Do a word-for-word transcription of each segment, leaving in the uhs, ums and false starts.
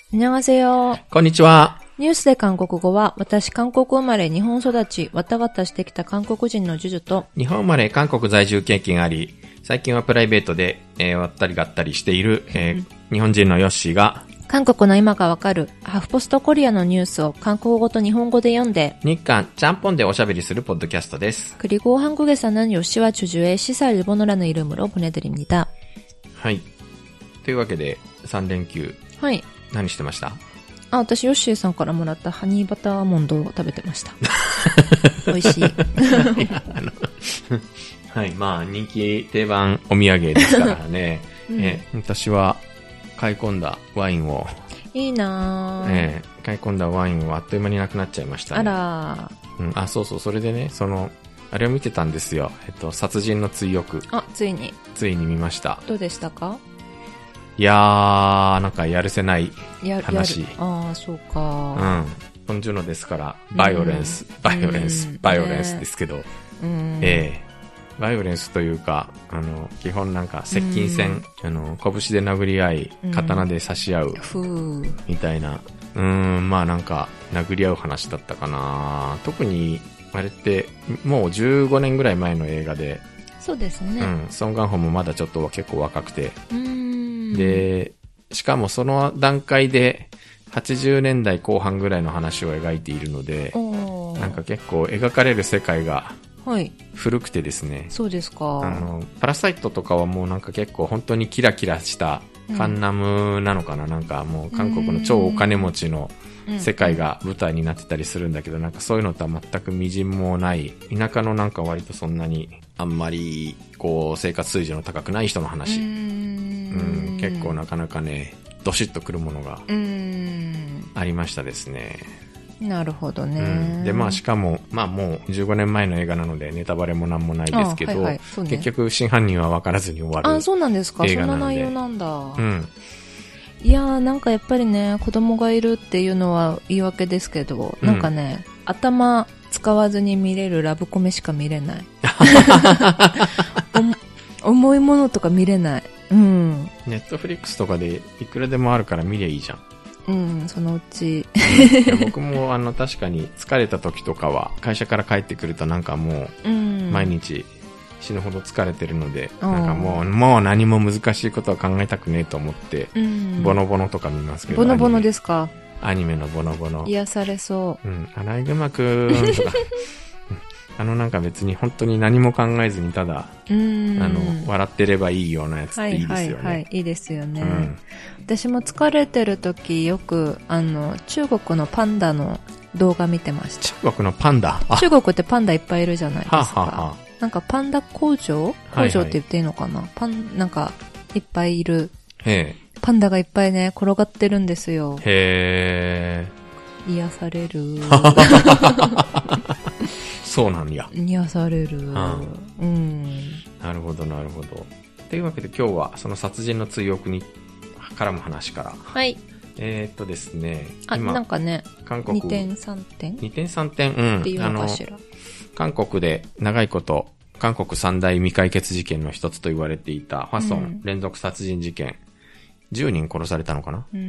안녕하세요。 こんにちは。 ニュースで韓国語は、私韓国生まれ日本育ち、わたわたしてきた韓国人のジュジュと、 日本生まれ韓国在住経験あり、最近はプライベートで、えー、割ったりがったりしている、えーうん、日本人のヨッシーが、 韓国の今がわかるハフポストコリアのニュースを韓国語と日本語で読んで日韓ちゃんぽんでおしゃべりするポッドキャストです。 그리고 한국에서는 요시와 주주의 시사 일본어라는 이름으로 보내드립니다. はい。というわけでさん連休。 はい。 何してました？ あ、私ヨッシーさんからもらったハニーバターモンドを食べてました。美味しい。 あのはい、まあ人気定番お土産ですからね。うん、え私は買い込んだワインをいいなぁ、 えー、買い込んだワインをあっという間になくなっちゃいましたね。 あらー、うん、あ、そうそう、それでね、そのあれを見てたんですよ。えっと殺人の追憶。 あ、ついについに見ました。 どうでしたか？ いやー、なんかやるせない話。 やああ、そうか。 うん。本ジュノですから、バイオレンス、バイオレンス、バイオレンスですけど、 うん、 ええー、バイオレンスというか、あの、基本なんか接近戦、あの、拳で殴り合い、刀で刺し合う、みたいな、うーん、まあなんか、殴り合う話だったかな。特に、あれって、もうじゅうごねんぐらい前の映画で、 そうですね。 うん、ソン・ガンホもまだちょっと結構若くて、 うーんで、しかもその段階で、はちじゅうねんだいこう半ぐらいの話を描いているので、なんか結構描かれる世界が古くてですね、 はい、そうですか。 あのパラサイトとかはもうなんか結構本当にキラキラしたカンナムなのかな、うん、なんかもう韓国の超お金持ちの世界が舞台になってたりするんだけど、なんかそういうのとは全くみじんもない田舎のなんか割とそんなにあんまりこう生活水準の高くない人の話、うーん、うん、結構なかなかねドシッとくるものがありましたですね。 なるほどね、 うん、でまあしかもまあもうじゅうごねんまえの映画なのでネタバレもなんもないですけど、はいはいね、結局真犯人は分からずに終わる映画なので。 あ、そうなんですか。そんな内容なんだ。 うん、 いやーなんかやっぱりね子供がいるっていうのは言い訳ですけど、うん、なんかね頭使わずに見れるラブコメしか見れない重いものとか見れない。うん。 ネットフリックスとかでいくらでもあるから見りゃいいじゃん。 うん、そのうち。 いや僕もあの確かに疲れた時とかは会社から帰ってくるとなんかもう毎日死ぬほど疲れてるので、うん、なんかもうもう何も難しいことは考えたくねえと思って、うん、ボノボノとか見ますけど。 ボノボノですか？ アニメのボノボノ。 癒されそう。 うん、アライグマくんとか。あのなんか別に本当に何も考えずにただ、うん、あの笑ってればいいようなやつっていいですよね。はいはいはい、 いいですよね。うん、私も疲れてる時よくあの中国のパンダの動画見てました。 中国のパンダ？ 中国ってパンダいっぱいいるじゃないですか。はあはあはあ、 なんかパンダ工場？工場って言っていいのかな？はいはい、パンなんかいっぱいいる。 へー。 パンダがいっぱいね転がってるんですよ。 へー。癒される。 そうなんや。 癒される、うんうん。 なるほどなるほど。というわけで今日はその殺人の追憶に絡む話から。 はい。 えー、っとですね。 あ、 今なんかね。 韓国。 にてんさんてん ? にてんさんてん、うん。 っていうのかしら。あの韓国で長いこと韓国三大未解決事件の一つと言われていたファソン連続殺人事件。うん、じゅうにん殺されたのかな、うん、うん。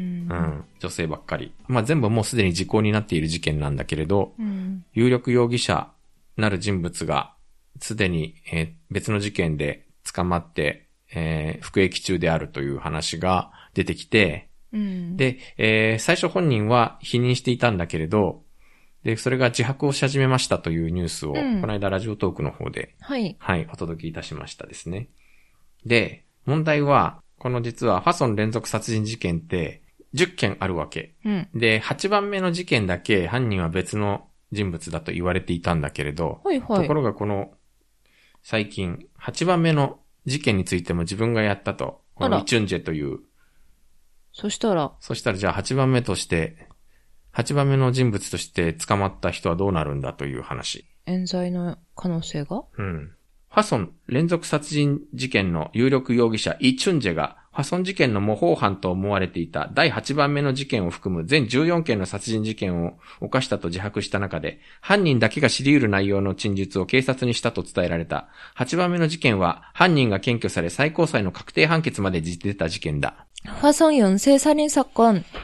女性ばっかり。まあ全部もうすでに時効になっている事件なんだけれど、うん、有力容疑者なる人物がすでに、えー、別の事件で捕まって、えー、服役中であるという話が出てきて、うん、で、えー、最初本人は否認していたんだけれど、で、それが自白をし始めましたというニュースを、うん、この間ラジオトークの方で、 はい、 はい、お届けいたしましたですね。で、問題は、この実はファソン連続殺人事件ってじゅっけんあるわけ。うん、で、はちばんめの事件だけ犯人は別の人物だと言われていたんだけれど、 はいはい、 ところがこの最近はちばんめの事件についても自分がやったと、このイチュンジェという。 そしたらそしたらじゃあはちばんめとして、はちばんめの人物として捕まった人はどうなるんだという話。 冤罪の可能性が？ うん。ファソン連続殺人事件の有力容疑者イ・チュンジェがファソン事件の模倣犯と思われていただいはちばんめの事件を含む全じゅうよんけんの殺人事件を犯したと自白した中で、犯人だけが知り得る内容の陳述を警察にしたと伝えられた。はちばんめの事件は犯人が検挙され最高裁の確定判決まで出た事件だ。 화성 연쇄살인 사건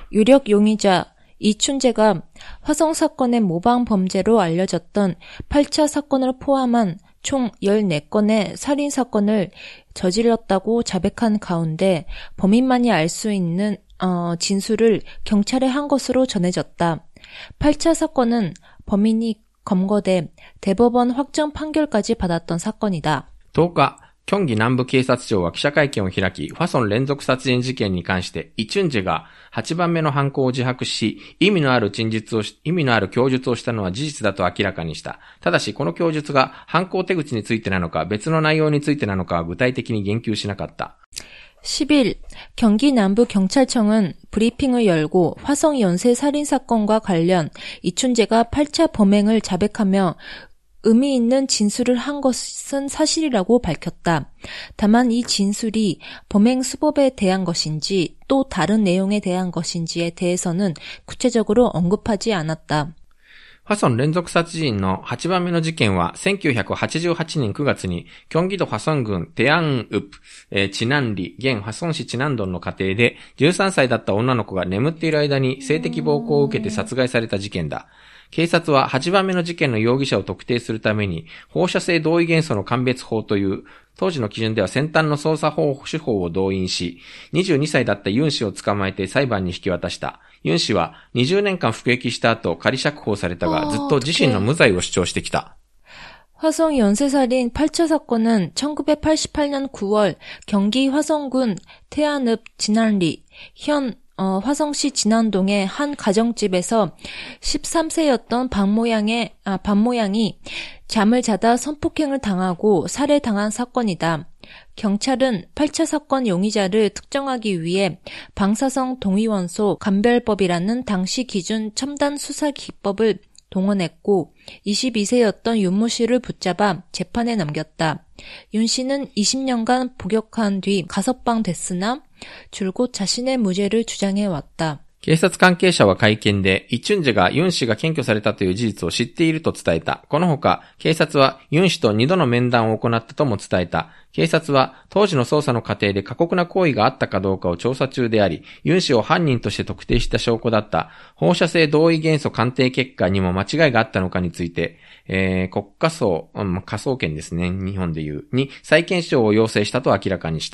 유력 용의자 이춘재가 화성 사건의 모방 범죄로 알려졌던 팔 차 사건을 포함한 총 열네 건의 살인 사건을 저질렀다고 자백한 가운데 범인만이 알 수 있는 어, 진술을 경찰에 한 것으로 전해졌다. 팔 차 사건은 범인이 검거돼 대법원 확정 판결까지 받았던 사건이다. とおか、京畿南部警察庁は記者会見を開き、ファソン連続殺人事件に関して、イチュンジェがはちばんめの犯行を自白し、意味のある陳述をし、意味のある供述をしたのは事実だと明らかにした。ただし、この供述が犯行手口についてなのか、別の内容についてなのかは具体的に言及しなかった。 십 일, 경기 남부경찰청은 브리핑을 열고 화성 연쇄 살인사건과 관련 이춘재가 팔 차 범행을 자백하며 의미 있는 진술을 한 것은 사실이라고 밝혔다. 다만 이 진술이 범행 수법에 대한 것인지 또 다른 내용에 대한 것인지에 대해서는 구체적으로 언급하지 않았다. ファソン連続殺人のはちばんめの事件はせんきゅうひゃくはちじゅうはちねんくがつにキョンギ道ファソン郡テアンウプ、えー、チナンリ、現ファソン市チナンドンの家庭でじゅうさんさいだった女の子が眠っている間に性的暴行を受けて殺害された事件だ。警察ははちばんめの事件の容疑者を特定するために放射性同意元素の鑑別法という当時の基準では先端の捜査法手法を動員し、にじゅうにさいだったユン氏を捕まえて裁判に引き渡した。ユン氏はにじゅうねんかん服役した後仮釈放されたがずっと自身の無罪を主張してきた。 화성 연쇄살인 팔 차 사건은 천구백팔십팔 년 구월 경기 화성군 태안읍 진안리 현 어, 화성시 진안동의 한 가정집에서 십삼 세였던 박모양의, 아, 박모양이 잠을 자다 성폭행을 당하고 살해당한 사건이다. 경찰은 팔 차 사건 용의자를 특정하기 위해 방사성 동위원소 감별법이라는 당시 기준 첨단 수사 기법을 동원했고 이십이 세였던 윤모 씨를 붙잡아 재판에 넘겼다. 윤 씨는 이십 년간 복역한 뒤 가석방 됐으나 줄곧 자신의 무죄를 주장해왔다. 警察関係者は会見で、イチュンジェがユン氏が検挙されたという事実を知っていると伝えた。このほか、警察はユン氏とにどの面談を行ったとも伝えた。警察は当時の捜査の過程で過酷な行為があったかどうかを調査中であり、ユン氏を犯人として特定した証拠だった放射性同位元素鑑定結果にも間違いがあったのかについて、えー、国家捜、うん、科捜研ですね、日本でいう、に再検証を要請したと明らかにした。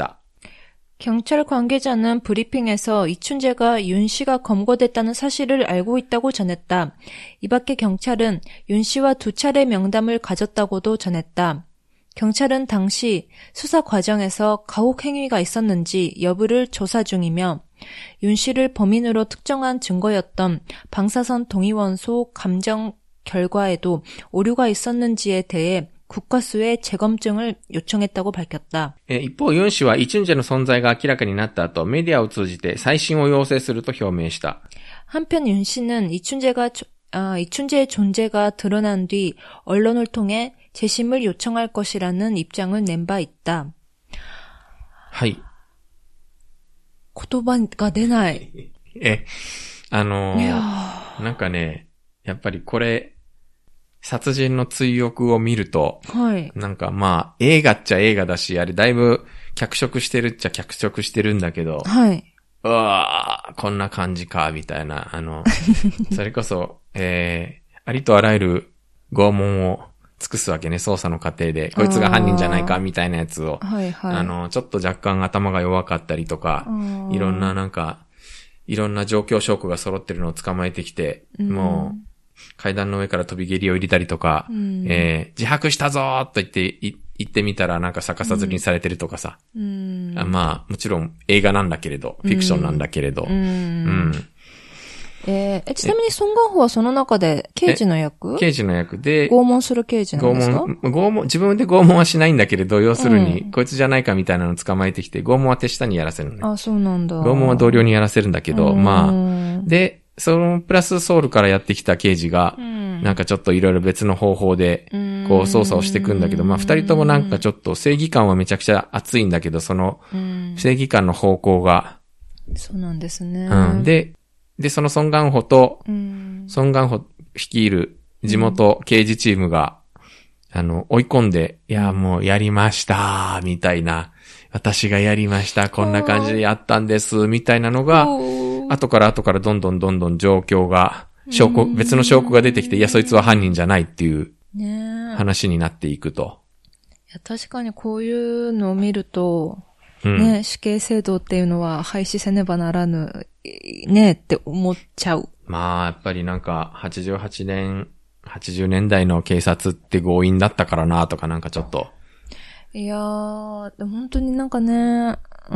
경찰 관계자는 브리핑에서 이춘재가 윤 씨가 검거됐다는 사실을 알고 있다고 전했다. 이 밖에 경찰은 윤 씨와 두 차례 명담을 가졌다고도 전했다. 경찰은 당시 수사 과정에서 가혹 행위가 있었는지 여부를 조사 중이며 윤 씨를 범인으로 특정한 증거였던 방사선 동위원소 감정 결과에도 오류가 있었는지에 대해 국과수에 재검증을 요청했다고 밝혔다. 一方、ユン氏はイチュンジェの存在が明らかになった後、メディアを通じて再審を要請すると表明した。 한편 윤 씨는 이춘재가 아, 이춘재의 존재가 드러난 뒤 언론을 통해 재심을 요청할 것이라는 입장을 낸 바 있다. はい。 言葉が出ない。 え、あのー、なんかね、やっぱりこれ、殺人の追憶を見ると、はい、なんかまあ映画っちゃ映画だし、あれだいぶ脚色してるっちゃ脚色してるんだけど、はい、うわーこんな感じかみたいな、あのそれこそ、えー、ありとあらゆる拷問を尽くすわけね、捜査の過程でこいつが犯人じゃないかみたいなやつを、はいはい、あのちょっと若干頭が弱かったりとか、いろんななんかいろんな状況証拠が揃ってるのを捕まえてきて、うん、もう階段の上から飛び蹴りを入れたりとか、うん、えー、自白したぞーと言って、言ってみたらなんか逆さずりにされてるとかさ。うん、あまあ、もちろん映画なんだけれど、フィクションなんだけれど。うん。うん、 えー、ちなみにソン・ガンホはその中で刑事の役？ 刑事の役で。 拷問する刑事なんですか？ 拷問、拷問、自分で拷問はしないんだけれど、要するに、うん、こいつじゃないかみたいなのを捕まえてきて、拷問は手下にやらせるのね。 あ、そうなんだ。 拷問は同僚にやらせるんだけど、まあ、で、そのプラスソウルからやってきた刑事が、うん、なんかちょっといろいろ別の方法で、こう捜査をしていくんだけど、まあ二人ともなんかちょっと正義感はめちゃくちゃ熱いんだけど、その正義感の方向が、 そうなんですね。 うん。で、で、そのソン・ガンホと、ソン・ガンホ率いる地元刑事チームが、あの、追い込んで、いや、もうやりました、みたいな、私がやりました、こんな感じでやったんです、みたいなのが、 後から後からどんどんどんどん状況が、証拠、別の証拠が出てきて、いや、そいつは犯人じゃないっていう話になっていくと。 いや、確かにこういうのを見ると、 うん、 ね、死刑制度っていうのは廃止せねばならぬ、ねって思っちゃう。 まあ、やっぱりなんか、はちじゅうはちねん、はちじゅうねんだいの警察って強引だったからなとかなんかちょっと。 いやー、本当になんかね、うん、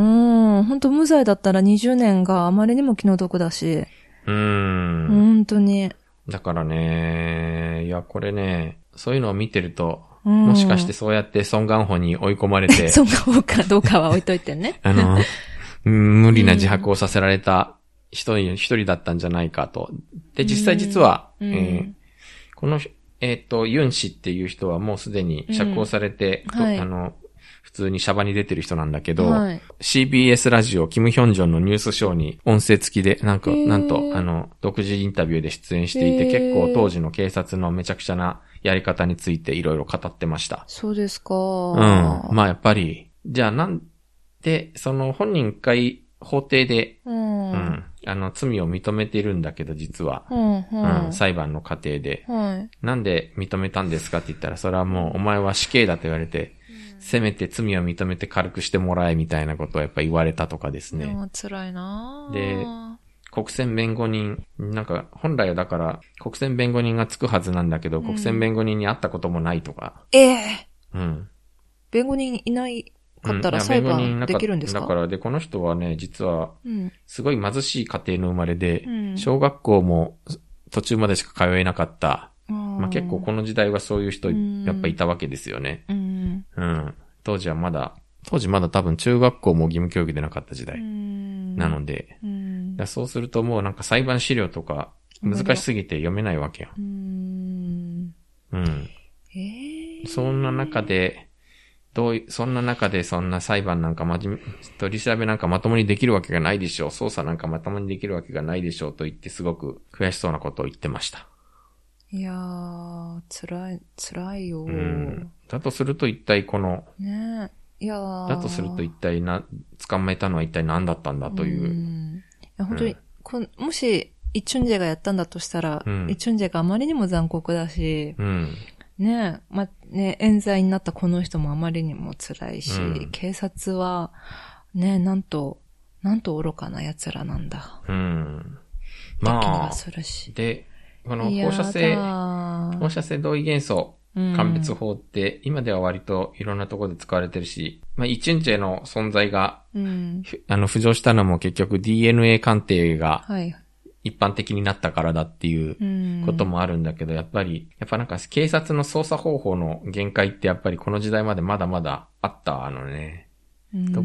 本当無罪だったらにじゅうねんがあまりにも気の毒だし。 うーん。 本当に。 だからね、いや、これね、そういうのを見てると、うん、もしかしてそうやってソン・ガンホに追い込まれて。 ソン・ガンホかどうかは置いといてね。 あの、無理な自白をさせられた人に一人だったんじゃないかと。で、実際実は、うんえー、この、えっと、ユン氏っていう人はもうすでに釈放されて、うんはい、あの、普通にシャバに出てる人なんだけど、はい、シービーエス ラジオ、キム・ヒョンジョンのニュースショーに音声付きで、なんか、なんと、あの、独自インタビューで出演していて、結構当時の警察のめちゃくちゃなやり方についていろいろ語ってました。 そうですか。 うん。まあやっぱり、じゃあなんで、その本人一回法廷で、うん、うん、あの、罪を認めているんだけど、実は、うんうんうん、裁判の過程で、はい、なんで認めたんですかって言ったら、それはもうお前は死刑だと言われて、せめて罪を認めて軽くしてもらえみたいなことをやっぱ言われたとかですね。 辛いなで、国選弁護人、なんか本来はだから国選弁護人がつくはずなんだけど、うん、国選弁護人に会ったこともないとか。 ええー、うん。 弁護人いないかったら裁判できるんですか？ だからで、この人はね、実は、すごい貧しい家庭の生まれで、うん、小学校も途中までしか通えなかった。まあ、結構この時代はそういう人やっぱいたわけですよね。うん。うん。当時はまだ、当時まだ多分中学校も義務教育でなかった時代。なので、うん、だそうするともうなんか裁判資料とか難しすぎて読めないわけよ。うん。うん。えー、そんな中で、どうい、そんな中でそんな裁判なんかまじめ、取り調べなんかまともにできるわけがないでしょう。捜査なんかまともにできるわけがないでしょうと言ってすごく悔しそうなことを言ってました。 いやー、辛い、辛いよ、うん。だとすると一体この、 ねいやー。 だとすると一体な、捕まえたのは一体何だったんだという。 うんいや本当に、うん、こもし、イ・チュンジェがやったんだとしたら、うん、イ・チュンジェがあまりにも残酷だし、うん、ねえ、ま、ね、冤罪になったこの人もあまりにも辛いし、うん、警察は、ね、なんと、なんと愚かな奴らなんだ。うん。まあ、気がするし。 で、この放射性、放射性同位元素、鑑別法って、今では割といろんなところで使われてるし、まあ、イチュンジェの存在が、うん、あの、浮上したのも結局 ディーエヌエー 鑑定が、一般的になったからだっていうこともあるんだけど、やっぱり、やっぱなんか警察の捜査方法の限界ってやっぱりこの時代までまだまだあったのね。うん、うん。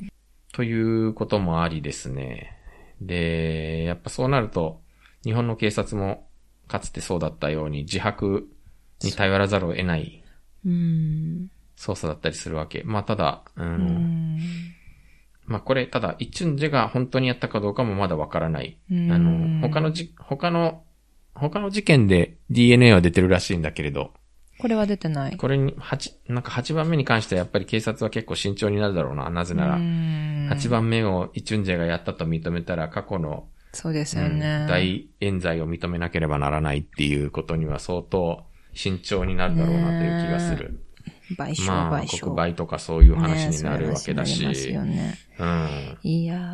ということもありですね。で、やっぱそうなると、日本の警察もかつてそうだったように自白に頼らざるを得ない捜査だったりするわけ。まあただ、うん、うんまあこれただイチュンジェが本当にやったかどうかもまだわからない。あの他のじ他の他の事件で ディーエヌエー は出てるらしいんだけれど、 これは出てない。 これに八なんかはちばんめに関してはやっぱり警察は結構慎重になるだろうな。なぜならはちばんめをイチュンジェがやったと認めたら過去のそうですよね、 うん。大冤罪を認めなければならないっていうことには相当慎重になるだろうなという気がする。 賠償、 まあ、 賠償。 国賠とかそういう話になるわけだし。 ね、そういう話になりますよね。うん。いや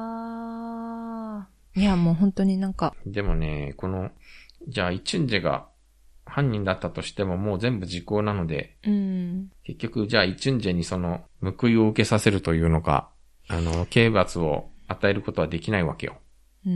ー。いや、もう本当になんか。 でもね、この、じゃあ、イチュンジェが犯人だったとしてももう全部時効なので、うん、結局、じゃあ、イチュンジェにその、報いを受けさせるというのか、あの、刑罰を与えることはできないわけよ。うん。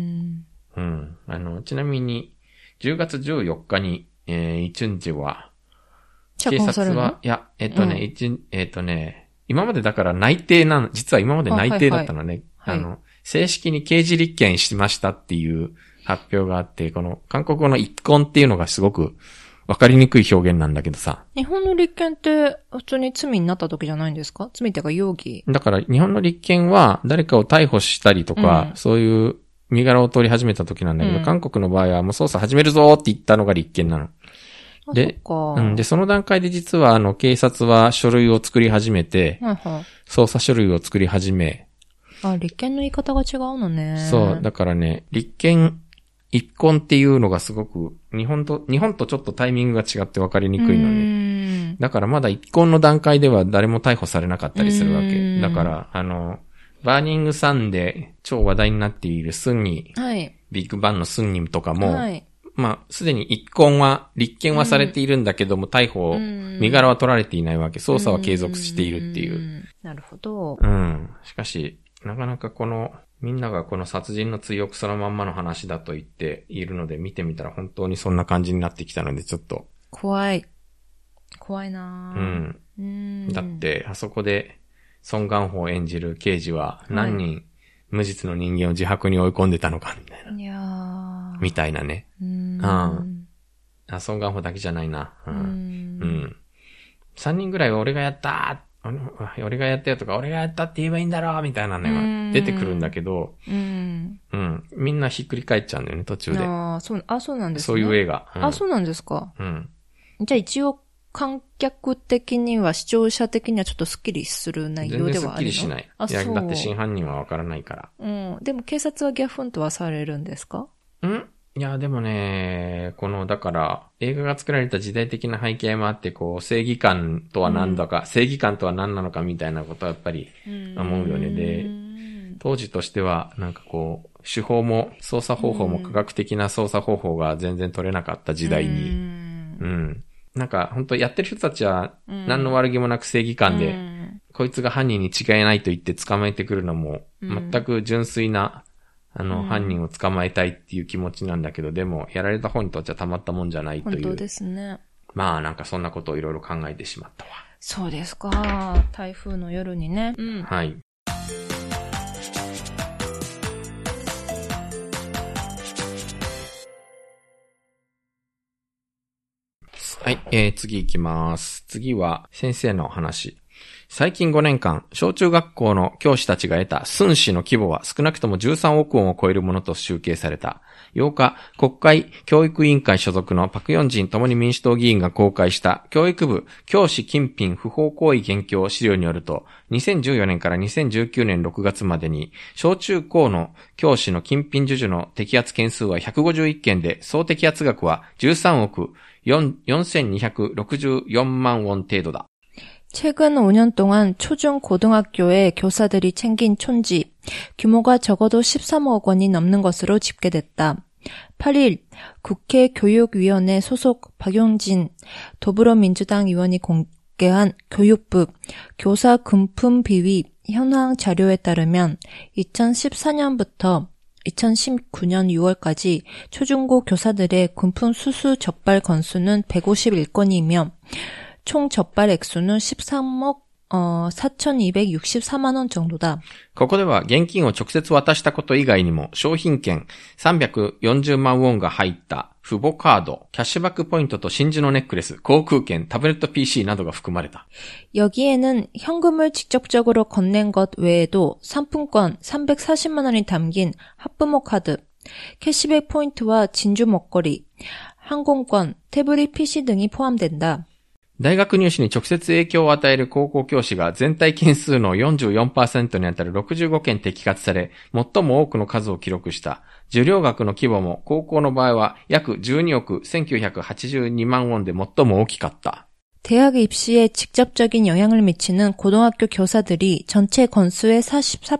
うん。あの、ちなみに、じゅうがつじゅうよっかに、えー、イチュンジェは、警察は、いや、えっとね、うん、一えっとね、今までだから内定なの、実は今まで内定だったのね。あ、はいはい、あの、正式に刑事立件しましたっていう発表があって、この韓国語の一婚っていうのがすごくわかりにくい表現なんだけどさ。 日本の立件って普通に罪になった時じゃないんですか？罪っていうか容疑。 だから日本の立件は誰かを逮捕したりとか、うん、そういう身柄を取り始めた時なんだけど、うん、韓国の場合はもう捜査始めるぞって言ったのが立件なの。で、うん、で、その段階で実はあの警察は書類を作り始めて、はいはい、捜査書類を作り始め、 あ、立憲の言い方が違うのね。 そう、だからね、立憲一婚っていうのがすごく、日本と、日本とちょっとタイミングが違って分かりにくいのね。だからまだ一婚の段階では誰も逮捕されなかったりするわけ。だから、あの、バーニングサンで超話題になっているスンニ、はい、ビッグバンのスンニとかも、はい、まあ、すでに一婚は、立件はされているんだけども、逮捕、身柄は取られていないわけ。捜査は継続しているっていう。 なるほど。 うん。しかし、なかなかこの、みんながこの殺人の追憶そのまんまの話だと言っているので、見てみたら本当にそんな感じになってきたので、ちょっと。 怖い。怖いなぁ。うん。 うんだって、あそこで、ソン・ガンホを演じる刑事は、何人、はい、無実の人間を自白に追い込んでたのか、みたいな。いやーみたいなね。うん。うん。あ、ソン・ガンホだけじゃないな。うん。うん。三人ぐらい俺がやったー俺がやったよとか、俺がやったって言えばいいんだろうみたいなのが出てくるんだけど、うん。うん。みんなひっくり返っちゃうんだよね、途中で。 ああ、そう、あ、そうなんですね。 そういう映画。 うん、あ、そうなんですか。うん。じゃあ一応、観客的には、視聴者的にはちょっとスッキリする内容ではあるの？全然スッキリしない。あ、いや、だって真犯人はわからないから。 うん。でも警察はギャフンとはされるんですか？ んいや、でもね、この、だから、映画が作られた時代的な背景もあって、こう、正義感とは何だか、うん、正義感とは何なのかみたいなことはやっぱり思うよね。で、当時としては、なんかこう、手法も、操作方法も科学的な操作方法が全然取れなかった時代に、うん。うんなんか、本当やってる人たちは、何の悪気もなく正義感で、うん、こいつが犯人に違いないと言って捕まえてくるのも、全く純粋な、あの、うん、犯人を捕まえたいっていう気持ちなんだけど、でも、やられた方にとってはたまったもんじゃないという。 本当ですね。 まあ、なんかそんなことをいろいろ考えてしまったわ。 そうですか。台風の夜にね。 うん、はい。はい、えー、次行きます。次は先生の話。最近ごねんかん、小中学校の教師たちが得た寸志の規模は少なくともじゅうさんおくウォンを超えるものと集計された。ようか、国会教育委員会所属のパクヨンジン共に民主党議員が公開した教育部教師金品不法行為現況資料によると、にせんじゅうよねんからにせんじゅうきゅうねんろくがつまでに、小中高の教師の金品授受の摘発件数はひゃくごじゅういっけんで、総摘発額はじゅうさんおくよんせんにひゃくろくじゅうよんまんウォン程度だ。 최근 오 년 동안 초중 고등학교의 교사들이 챙긴 촌지 규모가 적어도 십삼억 원이 넘는 것으로 집계됐다. 팔 일 국회 교육위원회 소속 박용진 더불어민주당 의원이 공개한 교육부 교사 금품 비위 현황 자료에 따르면 이천십사 년부터 이천십구 년 유월까지 초중고 교사들의 금품 수수 적발 건수는 백오십일 건이며 총 적발 액수는 십삼억 어, 사천이백육십사만 원 정도다. ここでは現金を直接渡したこと以外にも商品券さんびゃくよんじゅうまんウォンが入った父母カード、キャッシュバックポイントと真珠のネックレス、航空券、タブレット 피씨 などが含まれた。 여기에는 현금을 직접적으로 건넨 것 외에도 상품권 삼백사십만 원이 담긴 학부모 카드, 캐시백 포인트와 진주 먹거리, 항공권, 태블릿 피씨 등이 포함된다. 大学入試に直接影響を与える高校教師が全体件数の よんじゅうよんパーセント にあたるろくじゅうごけん摘発され、最も多くの数を記録した。受領額の規模も高校の場合は約じゅうにおくせんきゅうひゃくはちじゅうにまんウォンで最も大きかった。 대학 입시에 직접적인 영향을 미치는 고등학교 교사들이 전체 건수의 사십사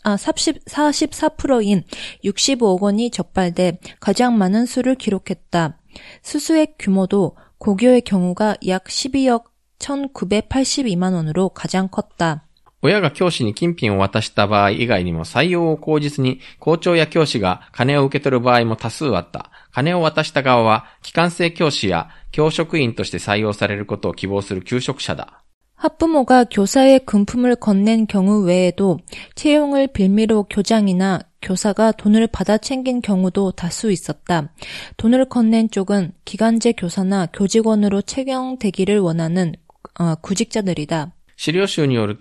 퍼센트인 육십오억 원이 적발돼 가장 많은 수를 기록했다. 수수액 규모도 고교의 경우가 약 십이억 천구백팔십이만 원으로 가장 컸다. 親が教師に金品を渡した場合以外にも採用を口実に校長や教師が金を受け取る場合も多数あった。金を渡した側は機関生教師や教職員として採用されることを希望する求職者だ。 학부모가 교사의 금품을 건넨 경우 외에도 채용을 빌미로 교장이나 교사가 돈을 받아 챙긴 경우도 다수 있었다. 돈을 건넨 쪽은 기간제 교사나 교직원으로 채용되기를 원하는 어, 구직자들이다. 資料集によると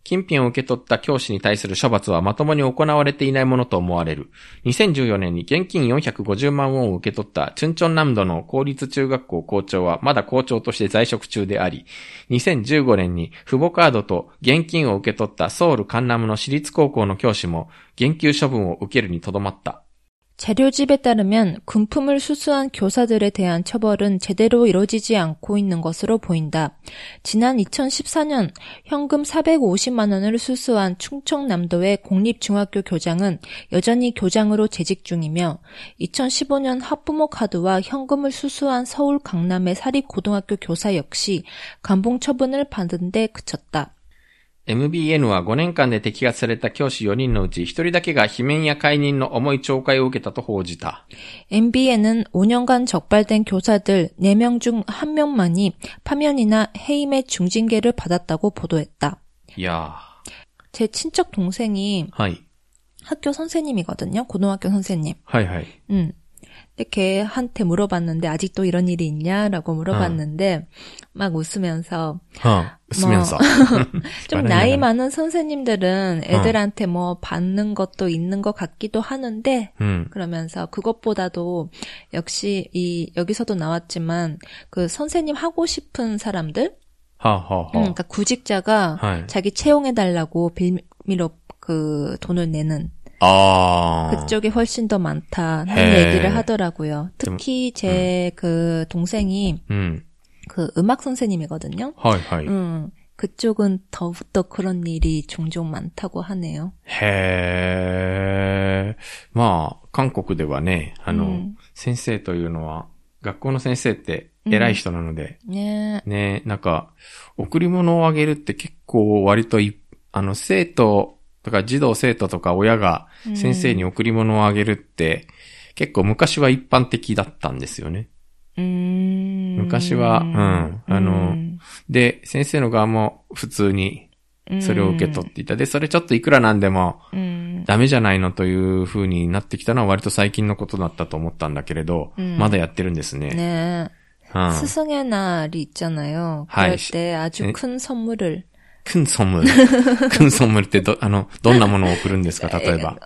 金品を受け取った教師に対する処罰はまともに行われていないものと思われる。にせんじゅうよねんに現金よんひゃくごじゅうまんウォンを受け取ったチュンチョン南道の公立中学校校長はまだ校長として在職中であり、にせんじゅうごねんに父母カードと現金を受け取ったソウルカンナムの私立高校の教師も減給処分を受けるにとどまった。 자료집에 따르면 금품을 수수한 교사들에 대한 처벌은 제대로 이루어지지 않고 있는 것으로 보인다. 지난 이천십사 년 현금 사백오십만 원을 수수한 충청남도의 공립중학교 교장은 여전히 교장으로 재직 중이며 이천십오 년 학부모 카드와 현금을 수수한 서울 강남의 사립고등학교 교사 역시 감봉 처분을 받은 데 그쳤다. エムビーエヌ はごねんかんで摘発された教師よにんのうちひとりだけが罷免や解任の重い懲戒を受けたと報じた。 엠비엔은 오 년간 적발된 교사들 네 명 중 한 명만이 파면이나 해임의 중징계를 받았다고 보도했다. 이야. 제 친척 동생이 하이. 학교 선생님이거든요. 고등학교 선생님. 하이 하이. 음. 근데 걔한테 물어봤는데 아직도 이런 일이 있냐라고 물어봤는데 어. 막 웃으면서 어, 웃으면서 뭐 좀 나이 많은 선생님들은 애들한테 어. 뭐 받는 것도 있는 것 같기도 하는데 음. 그러면서 그것보다도 역시 이 여기서도 나왔지만 그 선생님 하고 싶은 사람들 허허허. 음, 그러니까 구직자가 하이. 자기 채용해달라고 빌미로 그 돈을 내는 아. 그쪽이 훨씬 더 많다는 해. 얘기를 하더라고요. 특히 제 그 음. 동생이 음. 그 음악 선생님이거든요. 하이, 하이. 음, 그쪽은 더욱더 그런 일이 종종 많다고 하네요. へー。まあ、韓国ではね、あの、うん、先生というのは、学校の先生って偉い人なので、 うん、ねね、なんか、贈り物をあげるって結構割とい、あの、生徒、とか児童生徒とか親が先生に贈り物をあげるって、うん、結構昔は一般的だったんですよね。 うーん昔は、うん、あの、うん、で、先生の側も普通にそれを受け取っていた。で、それちょっといくらなんでもダメじゃないのという風になってきたのは割と最近のことだったと思ったんだけれど、うん、まだやってるんですね。 ねえ。うん、스승의 날이 있잖아요. 그럴 때 아주 큰 선물을 큰 선물. 큰 선물ってど、あの、どんなものを送るんですか、例えば。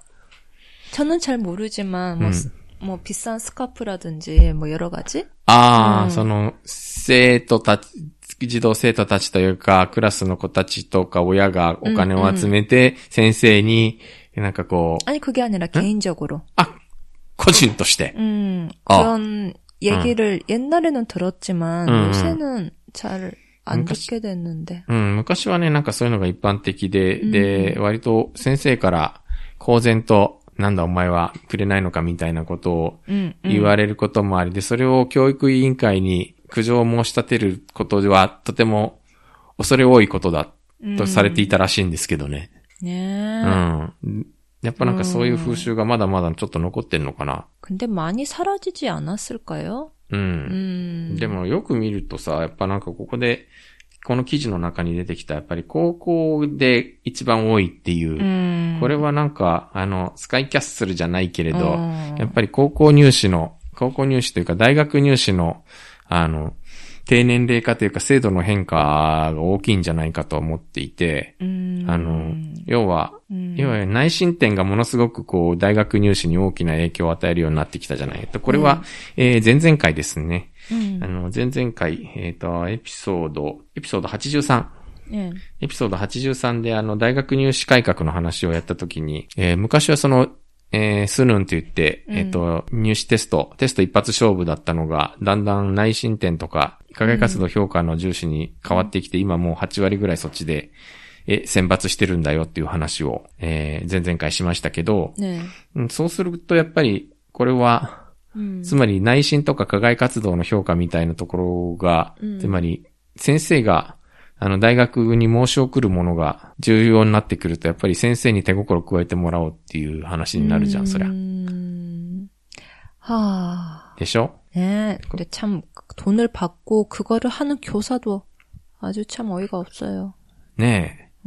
저는 잘 모르지만, 뭐, 음. 뭐, 비싼 스카프라든지, 뭐, 여러 가지? ああ、その、生徒たち、児童生徒たちというか、クラスの子たちとか親がお金を集めて、先生に、なんかこう。 아니, 그게 아니라 개인적으로. あ、個人として。 음, 그런 얘기를 옛날에는 들었지만, 요새는 잘, 안 듣게 됐는데. うん、昔はね、なんかそういうのが一般的で、うん、で、割と先生から公然と、なんだお前はくれないのかみたいなことを言われることもありで、それを教育委員会に苦情を申し立てることはとても恐れ多いことだとされていたらしいんですけどね。 うん、ねえ。うん。やっぱなんかそういう風習がまだまだちょっと残ってんのかな。 근데 많이 사라지지 않았을까요? うん。でもよく見るとさ、やっぱなんかここで、この記事の中に出てきたやっぱり高校で一番多いっていう、うん、これはなんかあのスカイキャッスルじゃないけれど、うん、やっぱり高校入試の、高校入試というか大学入試のあの低年齢化というか制度の変化が大きいんじゃないかと思っていて、うん、あの、要は、うん、要は内申点がものすごくこう大学入試に大きな影響を与えるようになってきたじゃないと。これは、うんえー、前々回ですね。うん、あの、前々回、えっと、エピソード、エピソードはちじゅうさん。うん、エピソードはちじゅうさんであの、大学入試改革の話をやったときに、えー、昔はその、えー、スヌンって言って、えっと、入試テスト、テスト一発勝負だったのが、だんだん内申点とか、課外活動評価の重視に変わってきて、今もうはちわりぐらいそっちで、え、選抜してるんだよっていう話を、えー、前々回しましたけど、ね、そうするとやっぱり、これは、うん、つまり内申とか課外活動の評価みたいなところが、うん、つまり先生があの大学に申し送るものが重要になってくるとやっぱり先生に手心加えてもらおうっていう話になるじゃん、そりゃ。 はあ。 でしょ? 네. 근데 참 돈을 받고 그거를 하는 교사도 아주 참 어이가 없어요. 네. うん。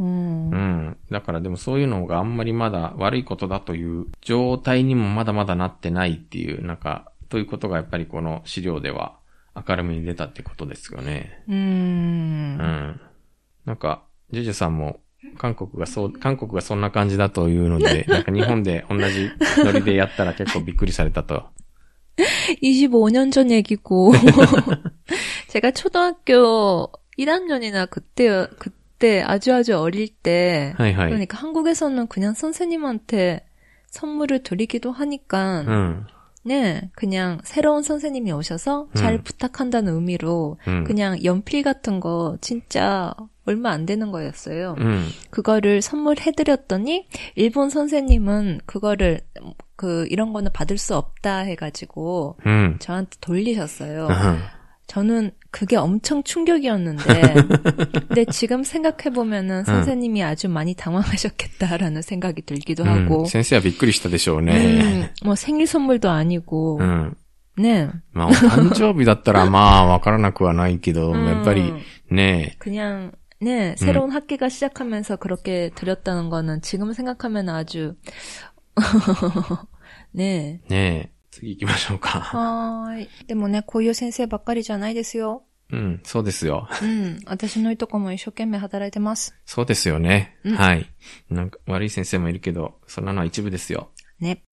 うん。だからでもそういうのがあんまりまだ悪いことだという状態にもまだまだなってないっていう、なんか、ということがやっぱりこの資料では明るみに出たってことですよね。 うーん。 うん。なんか、ジュジュさんも韓国がそう、韓国がそんな感じだというので、なんか日本で同じノリでやったら結構びっくりされたと。 이십오 년 전 얘기고 제가 초등학교 일 학년이나 그때 그때 아주 아주 어릴 때 하이하이. 그러니까 한국에서는 그냥 선생님한테 선물을 드리기도 하니까 음. 네, 그냥 새로운 선생님이 오셔서 잘 음. 부탁한다는 의미로 음. 그냥 연필 같은 거 진짜 얼마 안 되는 거였어요. 음. 그거를 선물해드렸더니 일본 선생님은 그거를 그 이런 거는 받을 수 없다 해가지고 음. 저한테 돌리셨어요. 아하. 저는 그게 엄청 충격이었는데 근데 지금 생각해보면은 선생님이 음. 아주 많이 당황하셨겠다라는 생각이 들기도 음. 하고 先生はびっくりしたでしょうね. 음, 뭐 생일 선물도 아니고 음. 네. まあ、お誕生日だったらまあ、わからなくはないけど、 음. やっぱりね. 그냥 네, 새로운 음. 학기가 시작하면서 그렇게 드렸다는 거는 지금 생각하면 아주 네. 네. 次行きましょうか。 はーい。でもね、こういう先生ばっかりじゃないですよ。 うん、そうですよ。 うん。私のいとこも一生懸命働いてます。 そうですよね。うん、はい。なんか悪い先生もいるけど、そんなのは一部ですよ。 ね。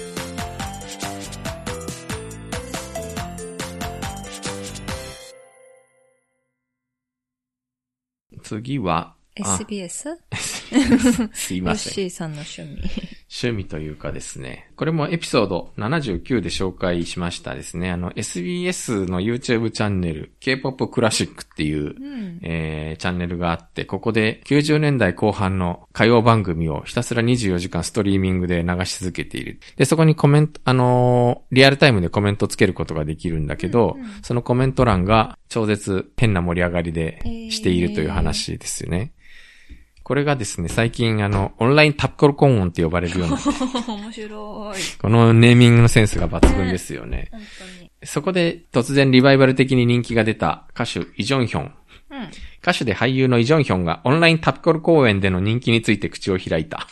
次は、 エスビーエス? すいません。 ヨッシーさんの趣味。 趣味というかですね。これもエピソードななじゅうきゅうで紹介しましたですね。あの エスビーエス の YouTube チャンネル K-ポップ クラシックっていう、うんえー、チャンネルがあって、ここできゅうじゅうねんだいこう半の歌謡番組をひたすらにじゅうよじかんストリーミングで流し続けている。で、そこにコメント、あのー、リアルタイムでコメントつけることができるんだけど、うんうん、そのコメント欄が超絶変な盛り上がりでしているという話ですよね。えーこれがですね、最近あの、オンラインタッコルコンオンって呼ばれるようになって。 面白い。 このネーミングのセンスが抜群ですよね。本当に。そこで突然リバイバル的に人気が出た歌手イ・ジョンヒョン。うん、歌手で俳優のイ・ジョンヒョンがオンラインタッコル公演での人気について口を開いた。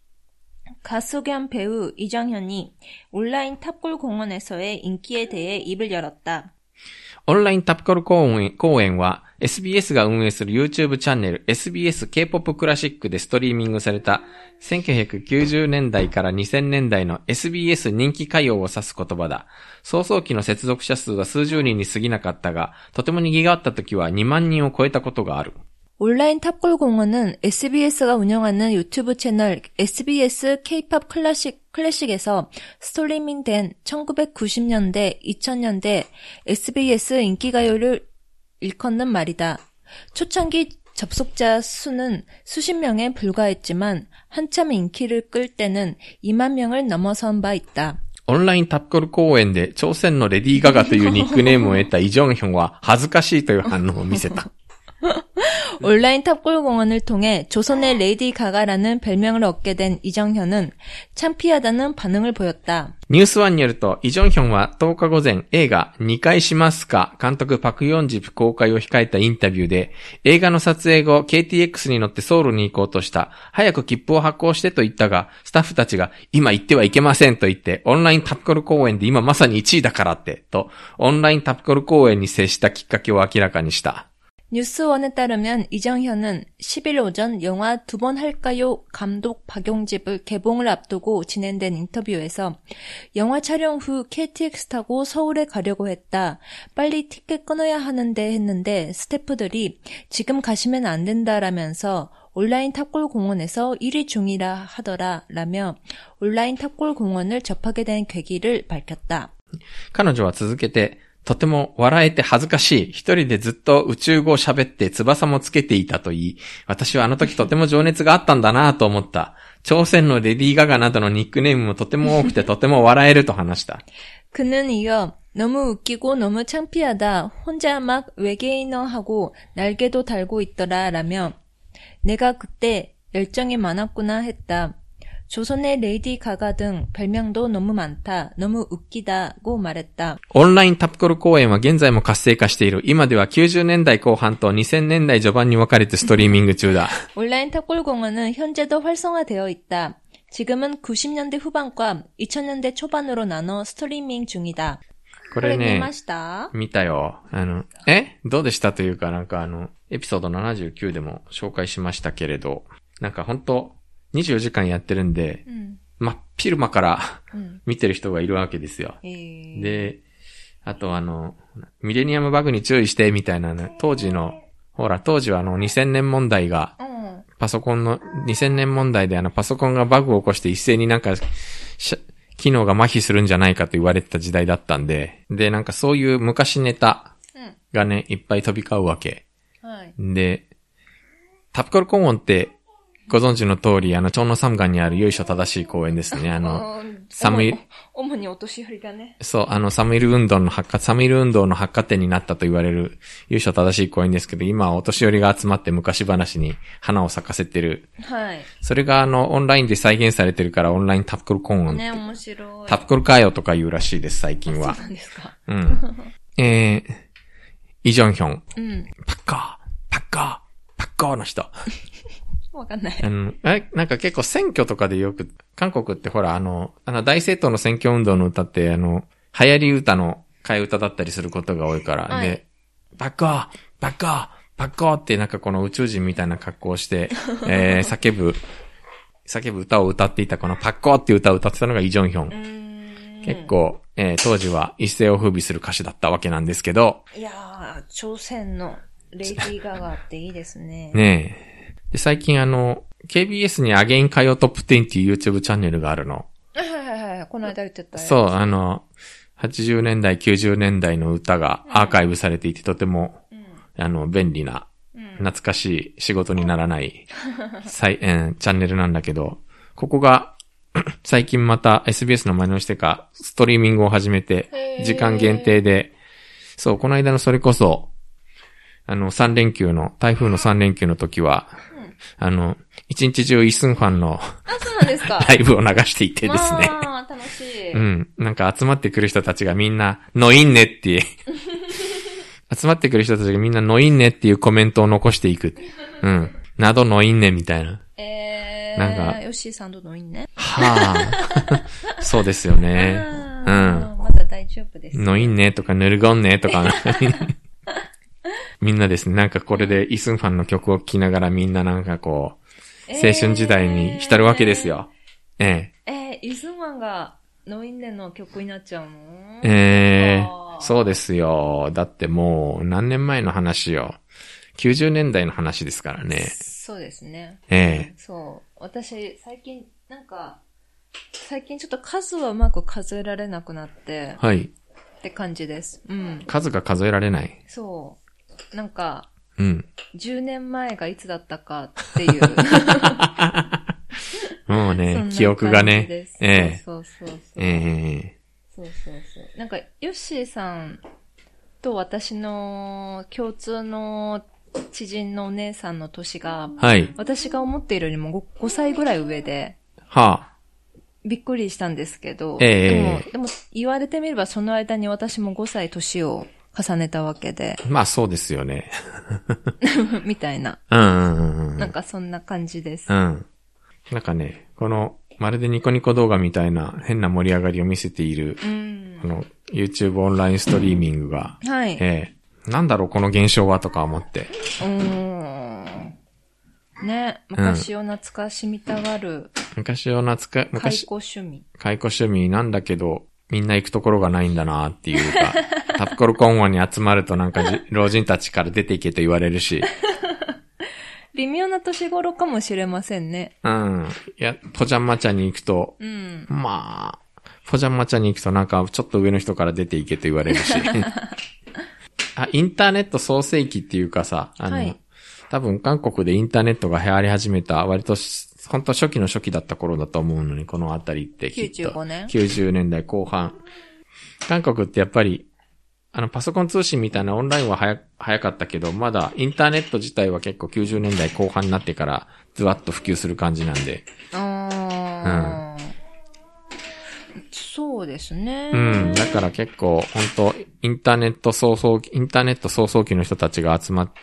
가수 겸 배우 이정현이 온라인 탑골 공원에서의 인기에 대해 입을 열었다. オンラインタッコル公演、公演は エスビーエス が運営する YouTube チャンネル エスビーエス K-ポップ クラシックでストリーミングされたせんきゅうひゃくきゅうじゅうねんだいからにせんねんだいの エスビーエス 人気歌謡を指す言葉だ。創創期の接続者数は数十人に過ぎなかったが、とても賑わった時はにまんにんを超えたことがある。 온라인 탑골 공원은 에스비에스가 운영하는 유튜브 채널 에스비에스 K-팝 클래식, 클래식에서 스트리밍된 천구백구십 년대, 이천 년대 에스비에스 인기가요를 일컫는 말이다. 초창기 접속자 수는 수십 명에 불과했지만 한참 인기를 끌 때는 이만 명을 넘어선 바 있다. オンラインタッコル公演で朝鮮のレディー・ガガというニックネームを得たイ・ジョンヒョンは恥ずかしいという反応を見せた。 온라인 탑골 공원을 통해 조선의 레이디 가가라는 별명을 얻게 된 이정현은 창피하다는 반응을 보였다. ニュースワンによると、イ・ジョンヒョンはとおか午前、映画にかいしますか監督パクヨンジプ公開を控えたインタビューで、映画の撮影後 ケーティーエックス に乗ってソウルに行こうとした。早く切符を発行してと言ったが、スタッフたちが今行ってはいけませんと言って、オンラインタッコル公演で今まさにいちいだからって、と、オンラインタッコル公演に接したきっかけを明らかにした。 뉴스원에 따르면 이정현은 십 일 오전 영화 두 번 할까요 감독 박용집을 개봉을 앞두고 진행된 인터뷰에서 영화 촬영 후 케이티엑스 타고 서울에 가려고 했다. 빨리 티켓 끊어야 하는데 했는데 스태프들이 지금 가시면 안 된다라면서 온라인 탑골 공원에서 일위 중이라 하더라 라며 온라인 탑골 공원을 접하게 된 계기를 밝혔다. 彼女は続けてとても笑えて恥ずかしい。一人でずっと宇宙語を喋って翼もつけていたと言い、私はあの時とても情熱があったんだなぁと思った。朝鮮のレディー・ガガなどのニックネームもとても多くてとても笑えると話した。 그는 이어 너무 웃기고 너무 창피하다. 혼자 막 외계인어하고 날개도 달고 있더라 라며 내가 그때 열정이 많았구나 했다. 조선의 레이디 가가 등 별명도 너무 많다. 너무 웃기다고 말했다. オンラインタッコル公演は現在も活性化している。今ではきゅうじゅうねんだいこう半とにせんねんだい序盤に分かれてストリーミング中だ。 온라인 탑골 공원은 현재도 활성화되어 있다. 지금은 구십 년대 후반과 이천 년대 초반으로 나눠 스트리밍 중이다. これね、見たよ。あの、えどうでしたというかなんかあの、エピソードななじゅうきゅうでも紹介しましたけれど、 なんか本当にじゅうよじかんやってるんで、 うん、 真っ昼間からうん、 見てる人がいるわけですよ。 えー、 で、あとあの、ミレニアムバグに注意してみたいなね、当時の、ほら、当時はあのにせんねん問題が、 うん、 パソコンのにせんねん問題であのパソコンがバグを起こして一斉になんか、機能が麻痺するんじゃないかと言われてた時代だったんで、で、なんかそういう昔ネタがね、いっぱい飛び交うわけ。 はい。 で、タプコルコンウォンってご存知の通り、あの、チョンノサムガンにある由緒正しい公園ですね。あの、サムイル、 主にお年寄りがね。 そう、あの、サムイル運動の発火、サムイル運動の発火点になったと言われる由緒正しい公園ですけど、今はお年寄りが集まって昔話に花を咲かせてる。 はい。それがあの、オンラインで再現されてるから、オンラインタプコルコンウォン。 ね、面白い。 タプコルカーヨとか言うらしいです、最近は。 そうなんですか。 うん。えー、イジョンヒョン。 うん。 パッカー、パッカー、パッカーの人。 わかんない。 あの、え、なんか結構選挙とかでよく、韓国ってほら、あの、あの大政党の選挙運動の歌って、あの、流行り歌の替え歌だったりすることが多いから、はい、で、バッカー、バッカー、バッカーってなんかこの宇宙人みたいな格好をして、えー、叫ぶ、叫ぶ歌を歌っていたこのパッカーっていう歌を歌ってたのがイ・ジョンヒョン。結構、えー、当時は一世を風靡する歌手だったわけなんですけど。 いやー、朝鮮のレイディー・ガガっていいですね。 ねえ。で、最近あの、ケービーエス にアゲイン歌謡トップじゅうっていう YouTube チャンネルがあるの。 はいはいはい。この間言ってた。 そう、あの、はちじゅうねんだい、きゅうじゅうねんだいの歌がアーカイブされていて、とても、うん、あの、便利な、うん、懐かしい仕事にならない、再えー、チャンネルなんだけど、ここが、最近また エスビーエス の真似をしてか、ストリーミングを始めて、時間限定で、そう、この間のそれこそ、あの、さん連休の、台風のさん連休の時は、うん、あの、一日中イスンファンの、 あ、そうなんですか。 ライブを流していてですね。 ああ、楽しい。 うん。なんか集まってくる人たちがみんな、のいんねって、集まってくる人たちがみんなのいんねっていうコメントを残していく。うん。などのいんねみたいな。 えー、なんか、ヨッシーさんとのいんね。 はあ。そうですよね。うん。 まだ大丈夫です、ね。 のいんねとかぬるごんねとか。みんなですね、なんかこれでイスンファンの曲を聴きながらみんななんかこう、青春時代に浸るわけですよ。ええー、えー、イスンファンがノインネの曲になっちゃうの？ ええー、そうですよ。だってもう何年前の話よ。きゅうじゅうねんだいの話ですからね。 そうですね。 ええー。 そう。私、最近、なんか、最近ちょっと数はうまく数えられなくなって。 はい。 って感じです。うん。 数が数えられない。 そう。なんか、 うん。 じゅうねんまえがいつだったかっていう。 もうね、記憶がね。 ええ。そうそうそう。 ええー。そうそうそう。なんか、ヨッシーさんと私の共通の知人のお姉さんの年が、 はい。 私が思っているよりも ご, ごさいぐらい上で、 はあ。 びっくりしたんですけど、 ええでも、でも言われてみればその間に私もごさい年を重ねたわけで。 まあそうですよね。 みたいな。 うんうんうん。 なんかそんな感じです。 うん。なんかね、この、まるでニコニコ動画みたいな変な盛り上がりを見せている、うん、この YouTube オンラインストリーミングが、 はい。 ええ、なんだろうこの現象はとか思って。 うーん。ね、昔を懐かしみたがる。うん、 昔を懐か、 昔。解雇趣味。 解雇趣味なんだけど、みんな行くところがないんだなっていうか、タプコルコンゴに集まるとなんか老人たちから出ていけと言われるし。 微妙な年頃かもしれませんね。 うん。いや、ポジャンマ茶に行くと、 うん、 まあ、ポジャンマ茶に行くとなんかちょっと上の人から出ていけと言われるし。あ、インターネット創世期っていうかさ、あの、はい、多分韓国でインターネットが流行り始めた割と本当初期の初期だった頃だと思うのに、このあたりってきっと。 きゅうじゅうごねん ?ききゅうじゅうねんだいこう半。韓国ってやっぱり、あのパソコン通信みたいなオンラインは早、早かったけど、まだインターネット自体は結構きゅうじゅうねんだいこう半になってからズワッと普及する感じなんで。 あー。うん。そうですね。 うん。だから結構本当インターネット早々期、インターネット早々期の人たちが集まって、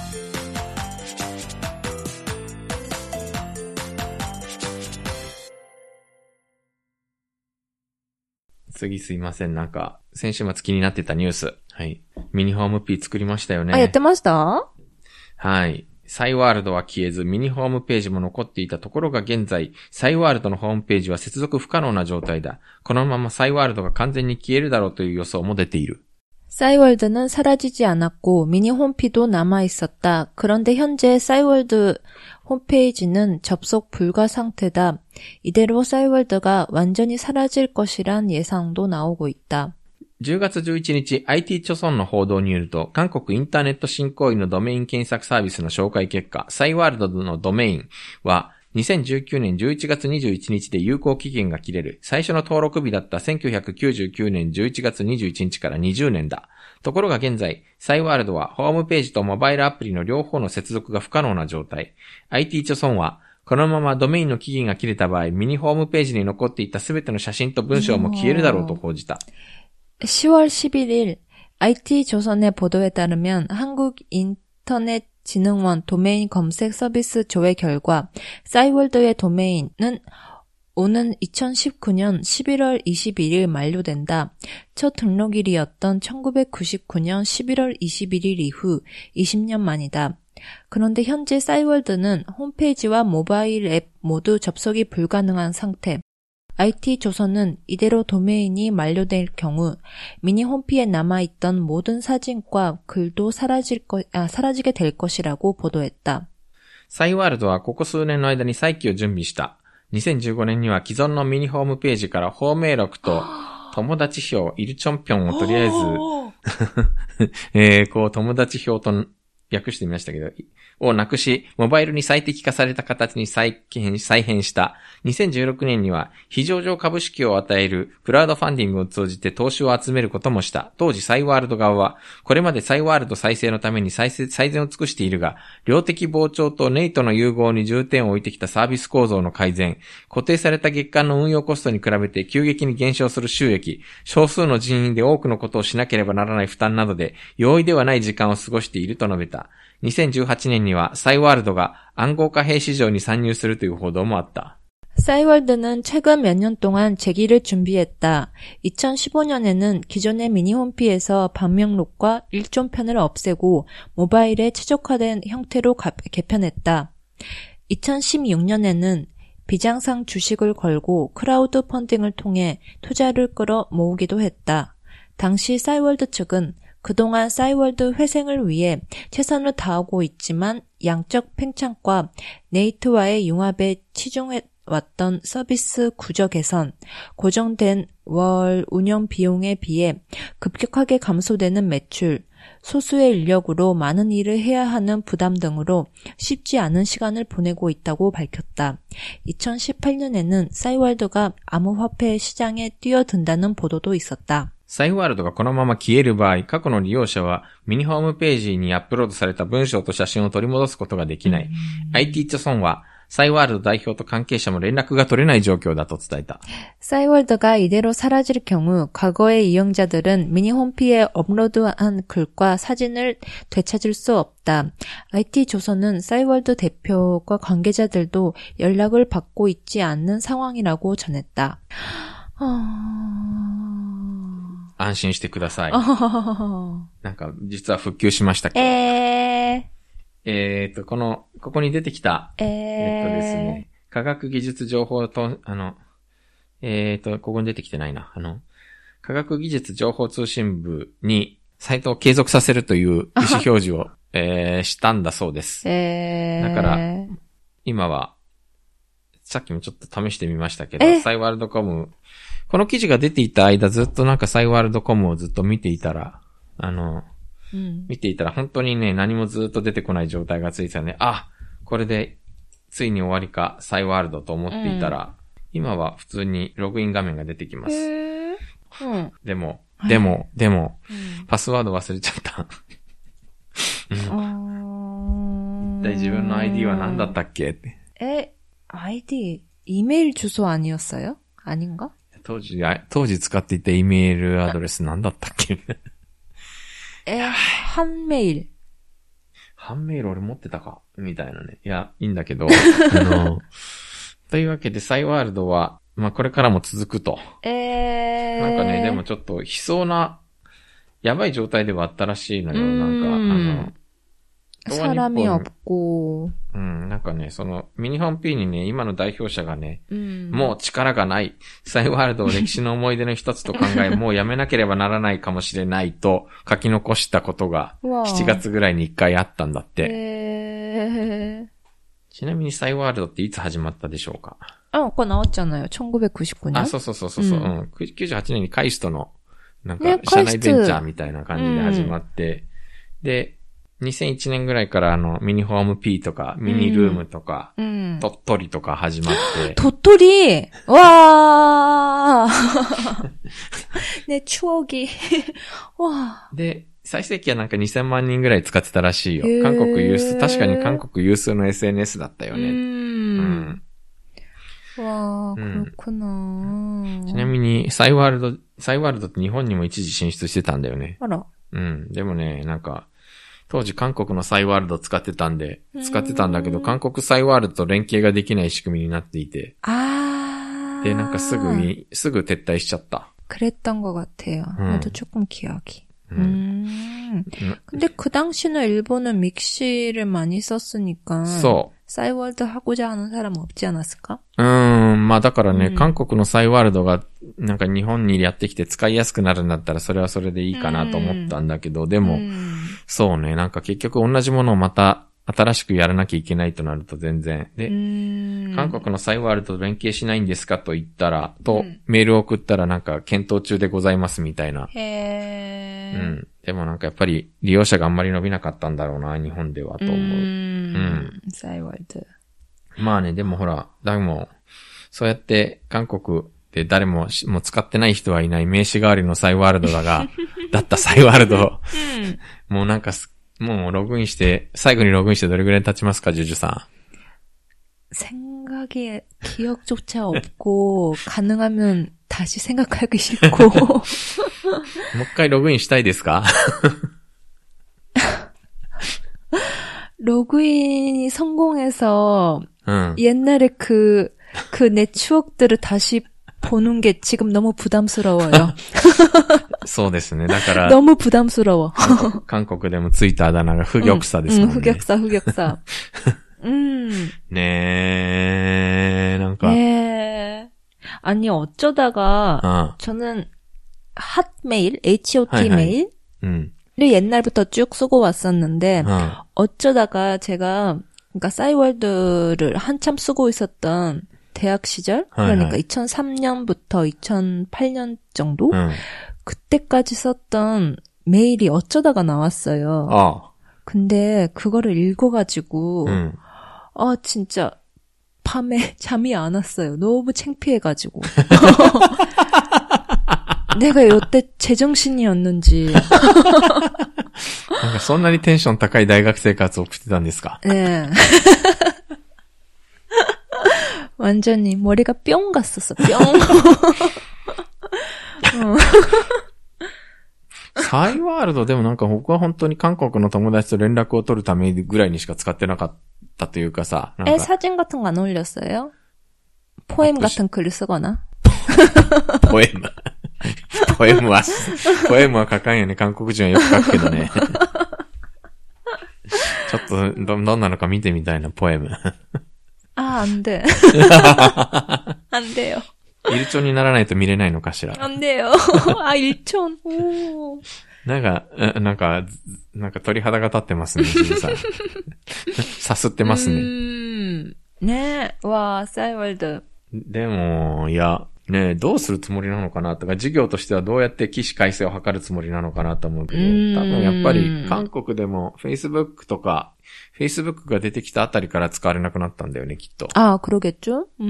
次すいません。なんか、先週末気になってたニュース。はい。ミニホーム P 作りましたよね。 あ、やってました？ はい。 サイワールドは消えず、ミニホームページも残っていたところが現在、サイワールドのホームページは接続不可能な状態だ。このままサイワールドが完全に消えるだろうという予想も出ている。 싸이월드는 사라지지 않았고 미니 홈피도 남아있었다. 그런데 현재 싸이월드 홈페이지는 접속 불가 상태다. 이대로 싸이월드가 완전히 사라질 것이란 예상도 나오고 있다. じゅうがつじゅういちにち アイティー 著村の報道によると、韓国インターネット振興員のドメイン検索サービスの紹介結果、サイワールドのドメインはにせんじゅうきゅうねんじゅういちがつにじゅういちにちで有効期限が切れる。最初の登録日だったせんきゅうひゃくきゅうじゅうきゅうねんじゅういちがつにじゅういちにちからにじゅうねんだ。ところが現在、サイワールドはホームページとモバイルアプリの両方の接続が不可能な状態。アイティー 著村は、このままドメインの期限が切れた場合、ミニホームページに残っていたすべての写真と文章も消えるだろうと報じた。 시월 십일일 아이티조선의 보도에 따르면 한국인터넷진흥원 도메인 검색 서비스 조회 결과 싸이월드의 도메인은 오는 이천십구 년 십일월 이십일일 만료된다. 첫 등록일이었던 천구백구십구 년 십일월 이십일일 이후 이십 년 만이다. 그런데 현재 싸이월드는 홈페이지와 모바일 앱 모두 접속이 불가능한 상태. 아이티조선은 이대로 도메인이 만료될 경우 미니 홈피에 남아있던 모든 사진과 글도 사라질 거, 아, 사라지게 될 것이라고 보도했다. サイワールドはここ数年の間に再起を準備した。にせんじゅうごねんには既存のミニホームページから芳名録と友達票イルチョンピョンをとりあえず、えー、こう友達票と訳してみましたけど、をなくし、モバイルに最適化された形に再編、再編した。にせんじゅうろくねんには、非上場株式を与えるクラウドファンディングを通じて投資を集めることもした。当時サイワールド側は、これまでサイワールド再生のために最最善を尽くしているが、量的膨張とネイトの融合に重点を置いてきたサービス構造の改善、固定された月間の運用コストに比べて急激に減少する収益、少数の人員で多くのことをしなければならない負担などで、容易ではない時間を過ごしていると述べた。にせんじゅうはちねんにはサイワールドが暗号貨幣市場に参入するという報道もあった。 싸이월드는 최근 몇 년 동안 재기를 준비했다. 이천십오 년에는 기존의 미니 홈피에서 방명록과 일종편을 없애고 모바일에 최적화된 형태로 가, 개편했다. 이천십육 년에는 비장상 주식을 걸고 크라우드 펀딩을 통해 투자를 끌어 모으기도 했다. 당시 싸이월드 측은 그동안 싸이월드 회생을 위해 최선을 다하고 있지만 양적 팽창과 네이트와의 융합에 치중해왔던 서비스 구조 개선, 고정된 월 운영 비용에 비해 급격하게 감소되는 매출, 소수의 인력으로 많은 일을 해야 하는 부담 등으로 쉽지 않은 시간을 보내고 있다고 밝혔다. 이천십팔 년에는 싸이월드가 암호화폐 시장에 뛰어든다는 보도도 있었다. サイワールドがこのまま消える場合、過去の利用者はミニホームページにアップロードされた文章と写真を取り戻すことができない。アイティー 著村はサイワールド代表と関係者も連絡が取れない状況だと伝えた。 싸이월드가 이대로 사라질 경우 과거의 이용자들은 미니 홈피에 업로드한 글과 사진을 되찾을 수 없다. 아이티조선은 싸이월드 대표과 관계자들도 연락을 받고 있지 않는 상황이라고 전했다. 어... 安心してください。なんか、実は復旧しましたけど。 えー、えーと、この、ここに出てきた、 えー、 えっとですね、科学技術情報と、あの、えーと、ここに出てきてないな。あの、科学技術情報通信部に、サイトを継続させるという意思表示を、えー、したんだそうです。 えー、だから、今は、さっきもちょっと試してみましたけど、サイワールドコム、この記事が出ていた間ずっとなんかサイワールドコムをずっと見ていたら、あの、うん、見ていたら本当にね、何もずっと出てこない状態がついてたね。あ、これでついに終わりか、サイワールドと思っていたら、うん、今は普通にログイン画面が出てきます。 へー、うん、 でも、でも、でも、うん、パスワード忘れちゃった。うん、で自分の アイディー は何だったっけって。 え、아이디 이메일 주소 아니었어요? 아닌가? 当時、当時使っていたイメールアドレス何だったっけえ、半メール。 半メール俺持ってたかみたいなね。いや、いいんだけど。あの、というわけで、サイワールドは、まあ、これからも続くと。 えー。 なんかね、でもちょっと悲壮な、やばい状態ではあったらしいのよ。なんか、あの、 사람이 없고. うん、なんかね、その、ミニホーム P にね、今の代表者がね、 うん、 もう力がない。サイワールドを歴史の思い出の一つと考え、もうやめなければならないかもしれないと書き残したことが、しちがつぐらいにいっかいあったんだって。 へー。 ちなみにサイワールドっていつ始まったでしょうか？ あ、これ나왔잖아요。천구백구십구 년。 あ、そうそうそうそうそう、うん。きゅうじゅうはちねんにカイストの、なんか、社内ベンチャーみたいな感じで始まって、うん、で、にせんいちねんぐらいからあの、ミニホーム P とか、ミニルームとか、うん、鳥取とか始まって。 鳥取わーね、추억이わー。で、最盛期はなんかにせんまんにんぐらい使ってたらしいよ。韓国有数、確かに韓国有数の エスエヌエス だったよね。うん。 わー、그렇구나。 ちなみに、サイワールド、サイワールドって日本にも一時進出してたんだよね。 あら。 うん。でもね、なんか、当時韓国のサイワールド使ってたんで、使ってたんだけど、韓国サイワールドと連携ができない仕組みになっていて。 あー。 で、なんかすぐに、すぐ撤退しちゃった。 그랬던 것 같아요. 나도 조금 기억이. 음. 근데 그 당시는 일본은 믹시를 많이 썼으니까. そう。 サイワールド하고자 하는 사람 없지 않았을까? うーん、まあだからね、うん、韓国のサイワールドがなんか日本にやってきて使いやすくなるんだったらそれはそれでいいかなと思ったんだけど、うん、でも、うん、そうね、なんか結局同じものをまた新しくやらなきゃいけないとなると全然。で、うん、韓国のサイワールドと連携しないんですかと言ったら、と、メールを送ったらなんか検討中でございますみたいな。 へー。 うん。でもなんかやっぱり利用者があんまり伸びなかったんだろうな、日本ではと思う。うん。うん、 サイワールド。 まあね、でもほら、でも、そうやって韓国で誰ももう使ってない人はいない名刺代わりのサイワールドだが、だったサイワールド、うん、もうなんか、もうログインして、最後にログインしてどれぐらい経ちますか、ジュジュさん。생각에 기억조차 없고 가능하면 다시 생각하기 싫고. もう一回ログインしたいですか? 로그인이 성공해서 응. 옛날에 그, 그 내 추억들을 다시 보는 게 지금 너무 부담스러워요. そうですね。だから 너무 부담스러워. 韓国でもついたあだ名が不玉さですもんね。 응, 흑역사, 흑역사. 음. 네, 뭔가. 네. 아니, 어쩌다가, 어. 저는, 핫메일, 에이치오티 메일? 음. 를 옛날부터 쭉 쓰고 왔었는데, 어. 어쩌다가 제가, 그러니까 싸이월드를 한참 쓰고 있었던 대학 시절? 그러니까 하이하이. 이천삼 년부터 이천팔 년 정도? 음. 그때까지 썼던 메일이 어쩌다가 나왔어요. 어. 근데 그거를 읽어가지고, 음. 아, 진짜, 밤에 잠이 안 왔어요. 너무 창피해가지고. 내가 요때 제정신이었는지. なんかそんなにテンション高い大学生活を送ってたんですか? 네. 완전히 머리가 뿅 갔었어. 뿅. サイワールドでもなんか僕は本当に韓国の友達と連絡を取るためぐらいにしか使ってなかったというかさ。なんか 에, 사진 같은 거 안 올렸어요? 포엠 같은 글을 쓰거나? ポエム。ポエムは、ポエムは書かんよね。韓国人はよく書くけどね。ちょっとど、どんなのか見てみたいな、ポエム。 あ、안 돼。안 돼요。 일촌にならないと見れないのかしら。 안 돼요。あ、일촌。 なんか、なんか、なんか鳥肌が立ってますね、ジュンさん。さすってますね。 うーん。ねえ、わー、サイワールド。 でも、いや、ねえ、どうするつもりなのかなとか、事業としてはどうやって起死回生を図るつもりなのかなと思うけど、多分やっぱり韓国でも Facebook とか、Facebook が出てきたあたりから使われなくなったんだよね、きっと。 ああ、그러겠죠？ うん。うん、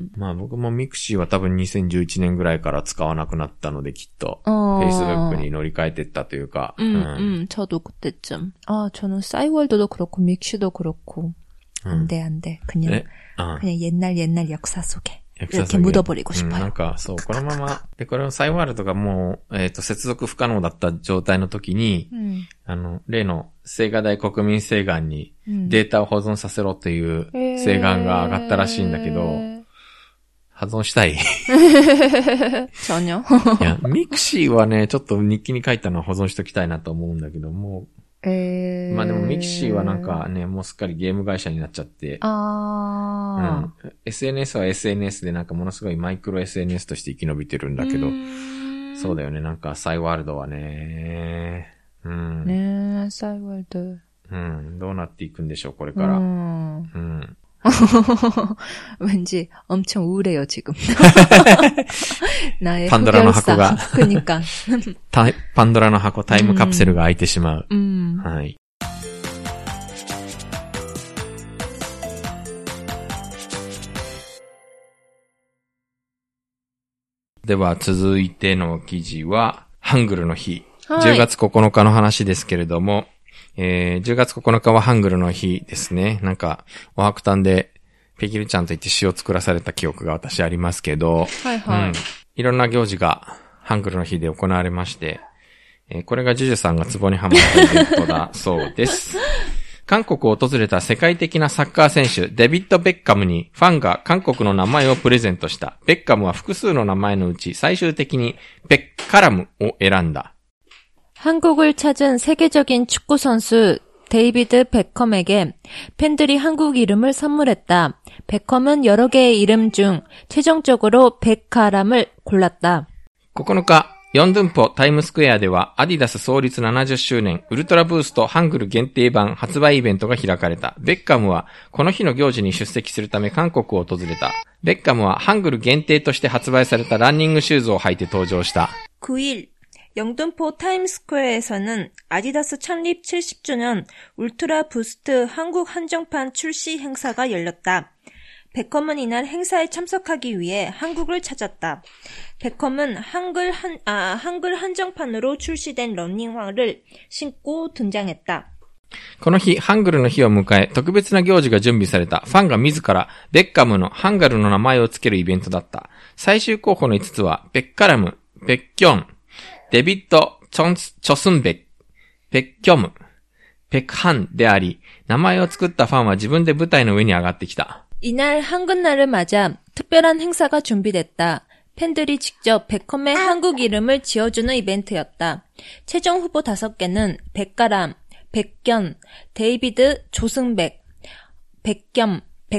まあ僕もミクシーは多分にせんじゅういちねんぐらいから使わなくなったので、きっと。Facebook に乗り換えてったというか。 うん、うん、저도 그때쯤. 아, 저는 싸이월드도 그렇고, 믹시도 그렇고. 안 돼, 안 돼. 그냥, 네? 아. 그냥 옛날 옛날 역사 속에. 이렇게 묻어버리고 싶어요. なんか、そう、このまま、で、これのサイワールドがもう、えっと、接続不可能だった状態の時に、うん、あの、例の、青瓦台国民請願に、データを保存させろっていう請願が上がったらしいんだけど、えー、保存したい 전혀。 いや、ミクシーはね、ちょっと日記に書いたのは保存しときたいなと思うんだけど、もう、 えー、 まあでもミキシーはなんかね、もうすっかりゲーム会社になっちゃって。 あー。うん。エスエヌエス は エスエヌエス でなんかものすごいマイクロ エスエヌエス として生き延びてるんだけど。そうだよね。なんかサイワールドはね。うん。 ねえ、サイワールド。 うん。どうなっていくんでしょう、これから。うん。うん。 왠지 엄청 우울해요 지금. 나의 パンドラの箱が 그러니까. パンドラの箱タイムカプセルが開いてしまう。 うん、 はい。では続いての記事はハングルの日、はい、じゅうがつここのかの話ですけれども、えー、じゅうがつここのかはハングルの日ですね。なんか、お白炭で、ペギルちゃんと言って詩を作らされた記憶が私ありますけど、 はいはい。うん、 いろんな行事が、ハングルの日で行われまして、えー、これがジュジュさんがツボにハマったイベントだそうです。韓国を訪れた世界的なサッカー選手、デビッド・ベッカムにファンが韓国の名前をプレゼントした。ベッカムは複数の名前のうち最終的にベッカラムを選んだ。 한국을 찾은 세계적인 축구 선수 데이비드 베컴에게 팬들이 한국 이름을 선물했다. 베컴은 여러 개의 이름 중 최종적으로 베카람을 골랐다. ここのか、ヨンドゥンポタイムスクエアではアディダス創立ななじゅっしゅうねんウルトラブーストハングル限定版発売イベントが開かれた。ベッカムはこの日の行事に出席するため韓国を訪れた。ベッカムはハングル限定として発売されたランニングシューズを履いて登場した。 くい일 영등포 타임스퀘어에서는 아디다스 창립 칠십 주년 울트라 부스트 한국 한정판 출시 행사가 열렸다. 베컴은 이날 행사에 참석하기 위해 한국을 찾았다. 베컴은 한글 한, 아, 한글 한정판으로 출시된 러닝화를 신고 등장했다. この日、ハングルの日を迎え、特別な行事が準備された。ファンが自ら、ベッカムのハンガルの名前を付けるイベントだった。最終候補のいつつは、ベッカラム、ベッキョン、デビッド・チョンス、チョスンベック、ペッキョム、ペクハンであり、名前を作ったファンは自分で舞台の上に上がってきた。 이날 한글날을 맞아 특별한 행사가 준비됐다. 팬들이 직접 베컴의 한국 이름을 지어주는 이벤트였다. 최종 후보 다섯 개는 백가람, 백견, 데이비드, 조승백, 백겸,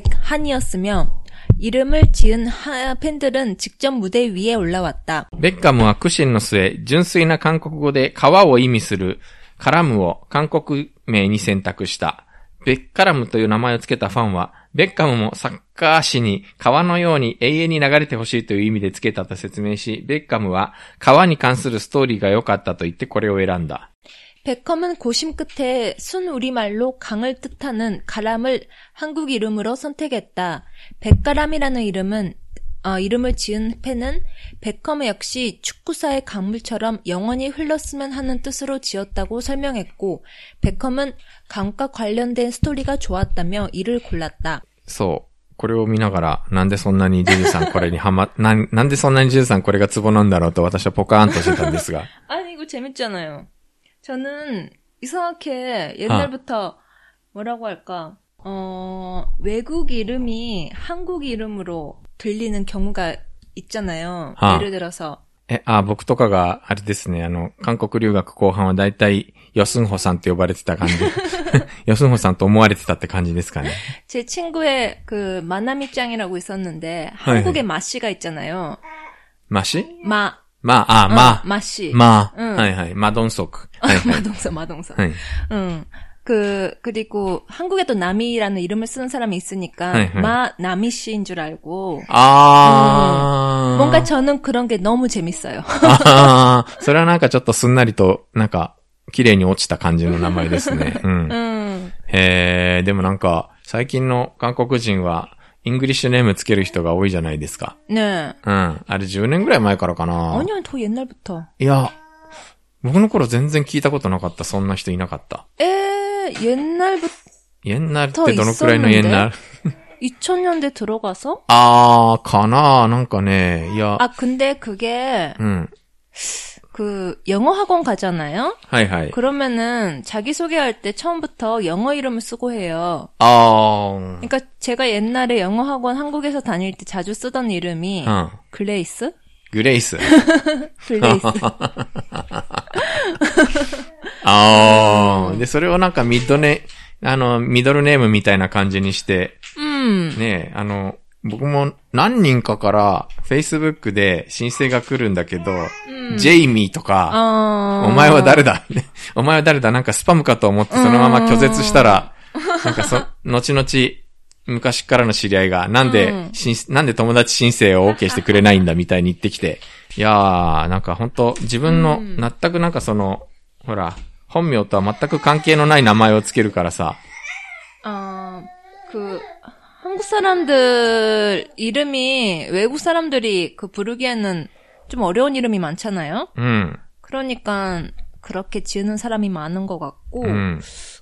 백한이었으며 이름을 지은 하, 팬들은 직접 무대 위에 올라왔다. ベッカムは苦心の末、純粋な韓国語で川を意味するカラムを韓国名に選択した。ベッカラムという名前をつけたファンは、ベッカムもサッカー史に川のように永遠に流れてほしいという意味でつけたと説明し、ベッカムは川に関するストーリーが良かったと言ってこれを選んだ。 베컴은 고심 끝에 순 우리말로 강을 뜻하는 가람을 한국 이름으로 선택했다. 백가람이라는 이름은 어, 이름을 지은 팬은 베컴 역시 축구사의 강물처럼 영원히 흘렀으면 하는 뜻으로 지었다고 설명했고, 베컴은 강과 관련된 스토리가 좋았다며 이를 골랐다. そう。これを見ながら、なんでそんなにジュジュさんこれにハマ、な、なんでそんなにジュジュさんこれがツボなんだろうと私はポカーンとしてたんですが。 아니, 이거 재밌잖아요. 저는 이상하게 옛날부터 뭐라고 할까, 어, 외국 이름이 한국 이름으로 들리는 경우가 있잖아요. 예를 들어서. え、あ、僕とかが、あれですね、あの、韓国留学後半はだいたい、ヨスンホさんって呼ばれてた感じ。ヨスンホさんと思われてたって感じですかね。 제 친구의 그, 마나미짱이라고 있었는데, 한국에 마씨가 있잖아요. 마씨? 마. 마, 아, 마. 어, 마씨. 마. 응. はいはい。마동석. 마동석, 마동석. 응. 그, 그리고 한국에도 나미라는 이름을 쓰는 사람이 있으니까, 네, 네. 마, 나미 씨인 줄 알고. 아. 음, 뭔가 저는 그런 게 너무 재밌어요. 아, それはなんかちょっとすんなりと、なんか、綺麗に落ちた感じの名前ですね。うん。うん、へー、でもなんか、最近の韓国人は、イングリッシュネームつける人が多いじゃないですか。 ねえ。うん。あれじゅうねんぐらい前からかな。 아니야、더 옛날부터。 いや、僕の頃全然聞いたことなかった。そんな人いなかった。 えー、옛날부터 옛날ってどのくらいの옛날? 이천 년대 들어가서? 아, 가나, 뭔가ね, 야. 아, 근데 그게, 음. 그, 영어 학원 가잖아요? 하이하이. 그러면은, 자기소개할 때 처음부터 영어 이름을 쓰고 해요. 아. 그러니까 제가 옛날에 영어 학원 한국에서 다닐 때 자주 쓰던 이름이, 어. 글레이스? 그레이스. 글레이스. ああ、で、それをなんかミッドネ、あの、ミドルネームみたいな感じにして、 うん。 ねえ、あの、僕も何人かから Facebook で申請が来るんだけど、うん、ジェイミーとか、お前は誰だお前は誰だなんかスパムかと思ってそのまま拒絶したら、なんかそ、後々、昔からの知り合いが、なんで、うん、なんで友達申請を OK してくれないんだみたいに言ってきて、いやー、なんか本当自分の、うん、全くなんかその、ほら、本名とは全く関係のない名前をつけるからさ。 あー、그 한국 사람들 이름이 외국 사람들이 그 부르기에는 좀 어려운 이름이 많잖아요. 음. 그러니까 그렇게 지으는 사람이 많은 것 같고, 음.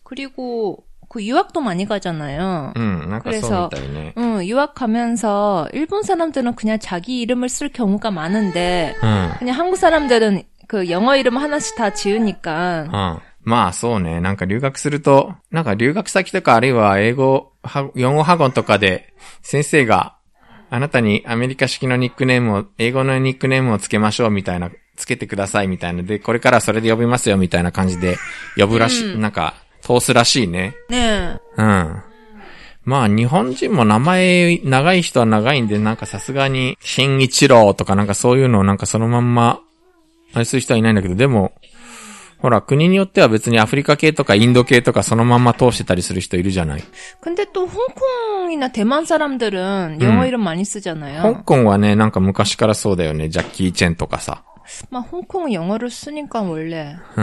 그리고 그 유학도 많이 가잖아요. 음, 그래서 음, 유학 가면서 일본 사람들은 그냥 자기 이름을 쓸 경우가 많은데, 음. 그냥 한국 사람들은 그 영어 이름 하나씩 다 지으니까. 어. まあそうね。なんか留学すると、なんか留学先とかあるいは英語、養護学校とかで先生があなたにアメリカ式のニックネームを、英語のニックネームをつけましょうみたいな、つけてくださいみたいなで、これからそれで呼びますよみたいな感じで呼ぶらしい、うん、なんか通すらしいね。 ねえ。うん。まあ日本人も名前長い人は長いんで、なんかさすがに新一郎とかなんかそういうのをなんかそのまんまあれする人はいないんだけど、でもほら、国によっては別にアフリカ系とかインド系とかそのまんま通してたりする人いるじゃない。 근데 또 홍콩이나 대만 사람들은 영어 이름 많이 쓰잖아요. 香港はね、なんか昔からそうだよね。ジャッキー・チェンとかさ。 まあ、香港영어를 쓰니까 원래. うん。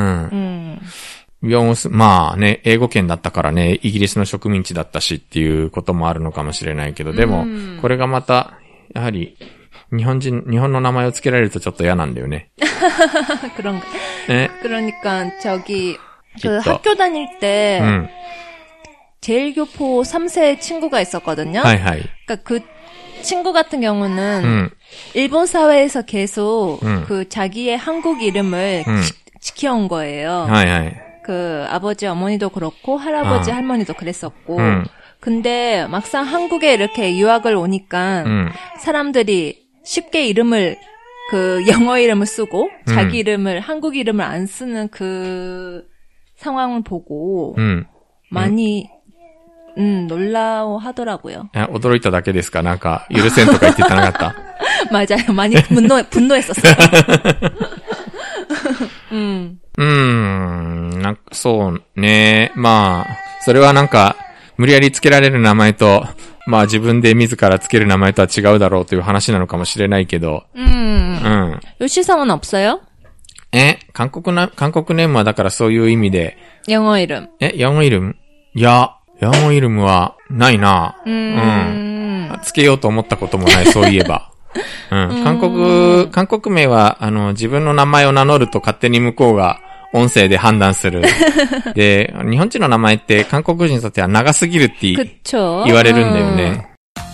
うん。まあね、英語圏だったからね、イギリスの植民地だったしっていうこともあるのかもしれないけど、でも、これがまた、やはり、日本人、日本の名前を付けられるとちょっと嫌なんだよね。 그런가. 네? 그러니까 저기 그 학교 다닐 때 음. 제일교포 삼 세 친구가 있었거든요. 하이하이. 그러니까 그 친구 같은 경우는 음. 일본 사회에서 계속 음. 그 자기의 한국 이름을 음. 지, 지켜온 거예요. 하이하이. 그 아버지 어머니도 그렇고 할아버지 아. 할머니도 그랬었고. 음. 근데 막상 한국에 이렇게 유학을 오니까 음. 사람들이 쉽게 이름을 그 영어 이름을 쓰고 음. 자기 이름을 한국 이름을 안 쓰는 그 상황을 보고 음. 많이 음, 놀라워하더라고요. 아, 驚いただけですか? なんか許せんとか言ってたなかった? 맞아요. 많이 분노 분노했었어요. 음. うーん、なんかそうね。まあそれはなんか無理やりつけられる名前と。まあ自分で自らつける名前とは違うだろうという話なのかもしれないけど。 うん。うん。요시상은없어요? え、韓国な、韓国ネームはだからそういう意味で。 영어 이름. え、영어 이름? いや、영어イルムはないな。 うん。うん。 つけようと思ったこともない、そういえば。うん。韓国、韓国名は、あの、自分の名前を名乗ると勝手に向こうが、音声で判断する。で、日本人の名前って韓国人にとっては長すぎるって言われるんだよね。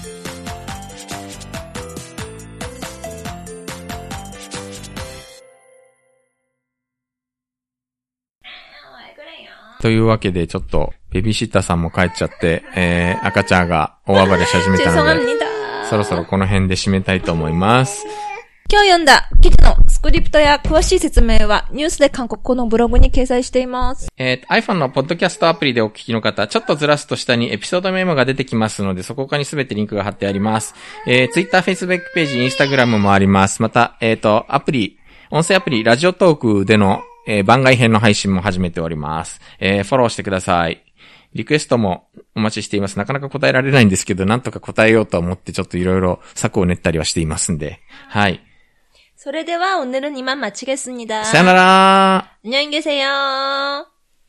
というわけで、ちょっと、ベビーシッターさんも帰っちゃって、えー、赤ちゃんが大暴れし始めたので、そろそろこの辺で締めたいと思います。 今日読んだ記事のスクリプトや詳しい説明はニュースで韓国語のブログに掲載しています。 えー、iPhone のポッドキャストアプリでお聞きの方、ちょっとずらすと下にエピソードメモが出てきますので、そこからにすべてリンクが貼ってあります。えー、Twitter、Facebook ページ、Instagram もあります。また、えっと、アプリ、音声アプリ、ラジオトークでの、えー、番外編の配信も始めております。えー、フォローしてください。リクエストもお待ちしています。なかなか答えられないんですけど、なんとか答えようと思ってちょっといろいろ策を練ったりはしていますんで。はい。 それでは오늘은이만마치겠습니다。 さよなら。 안녕히계세요。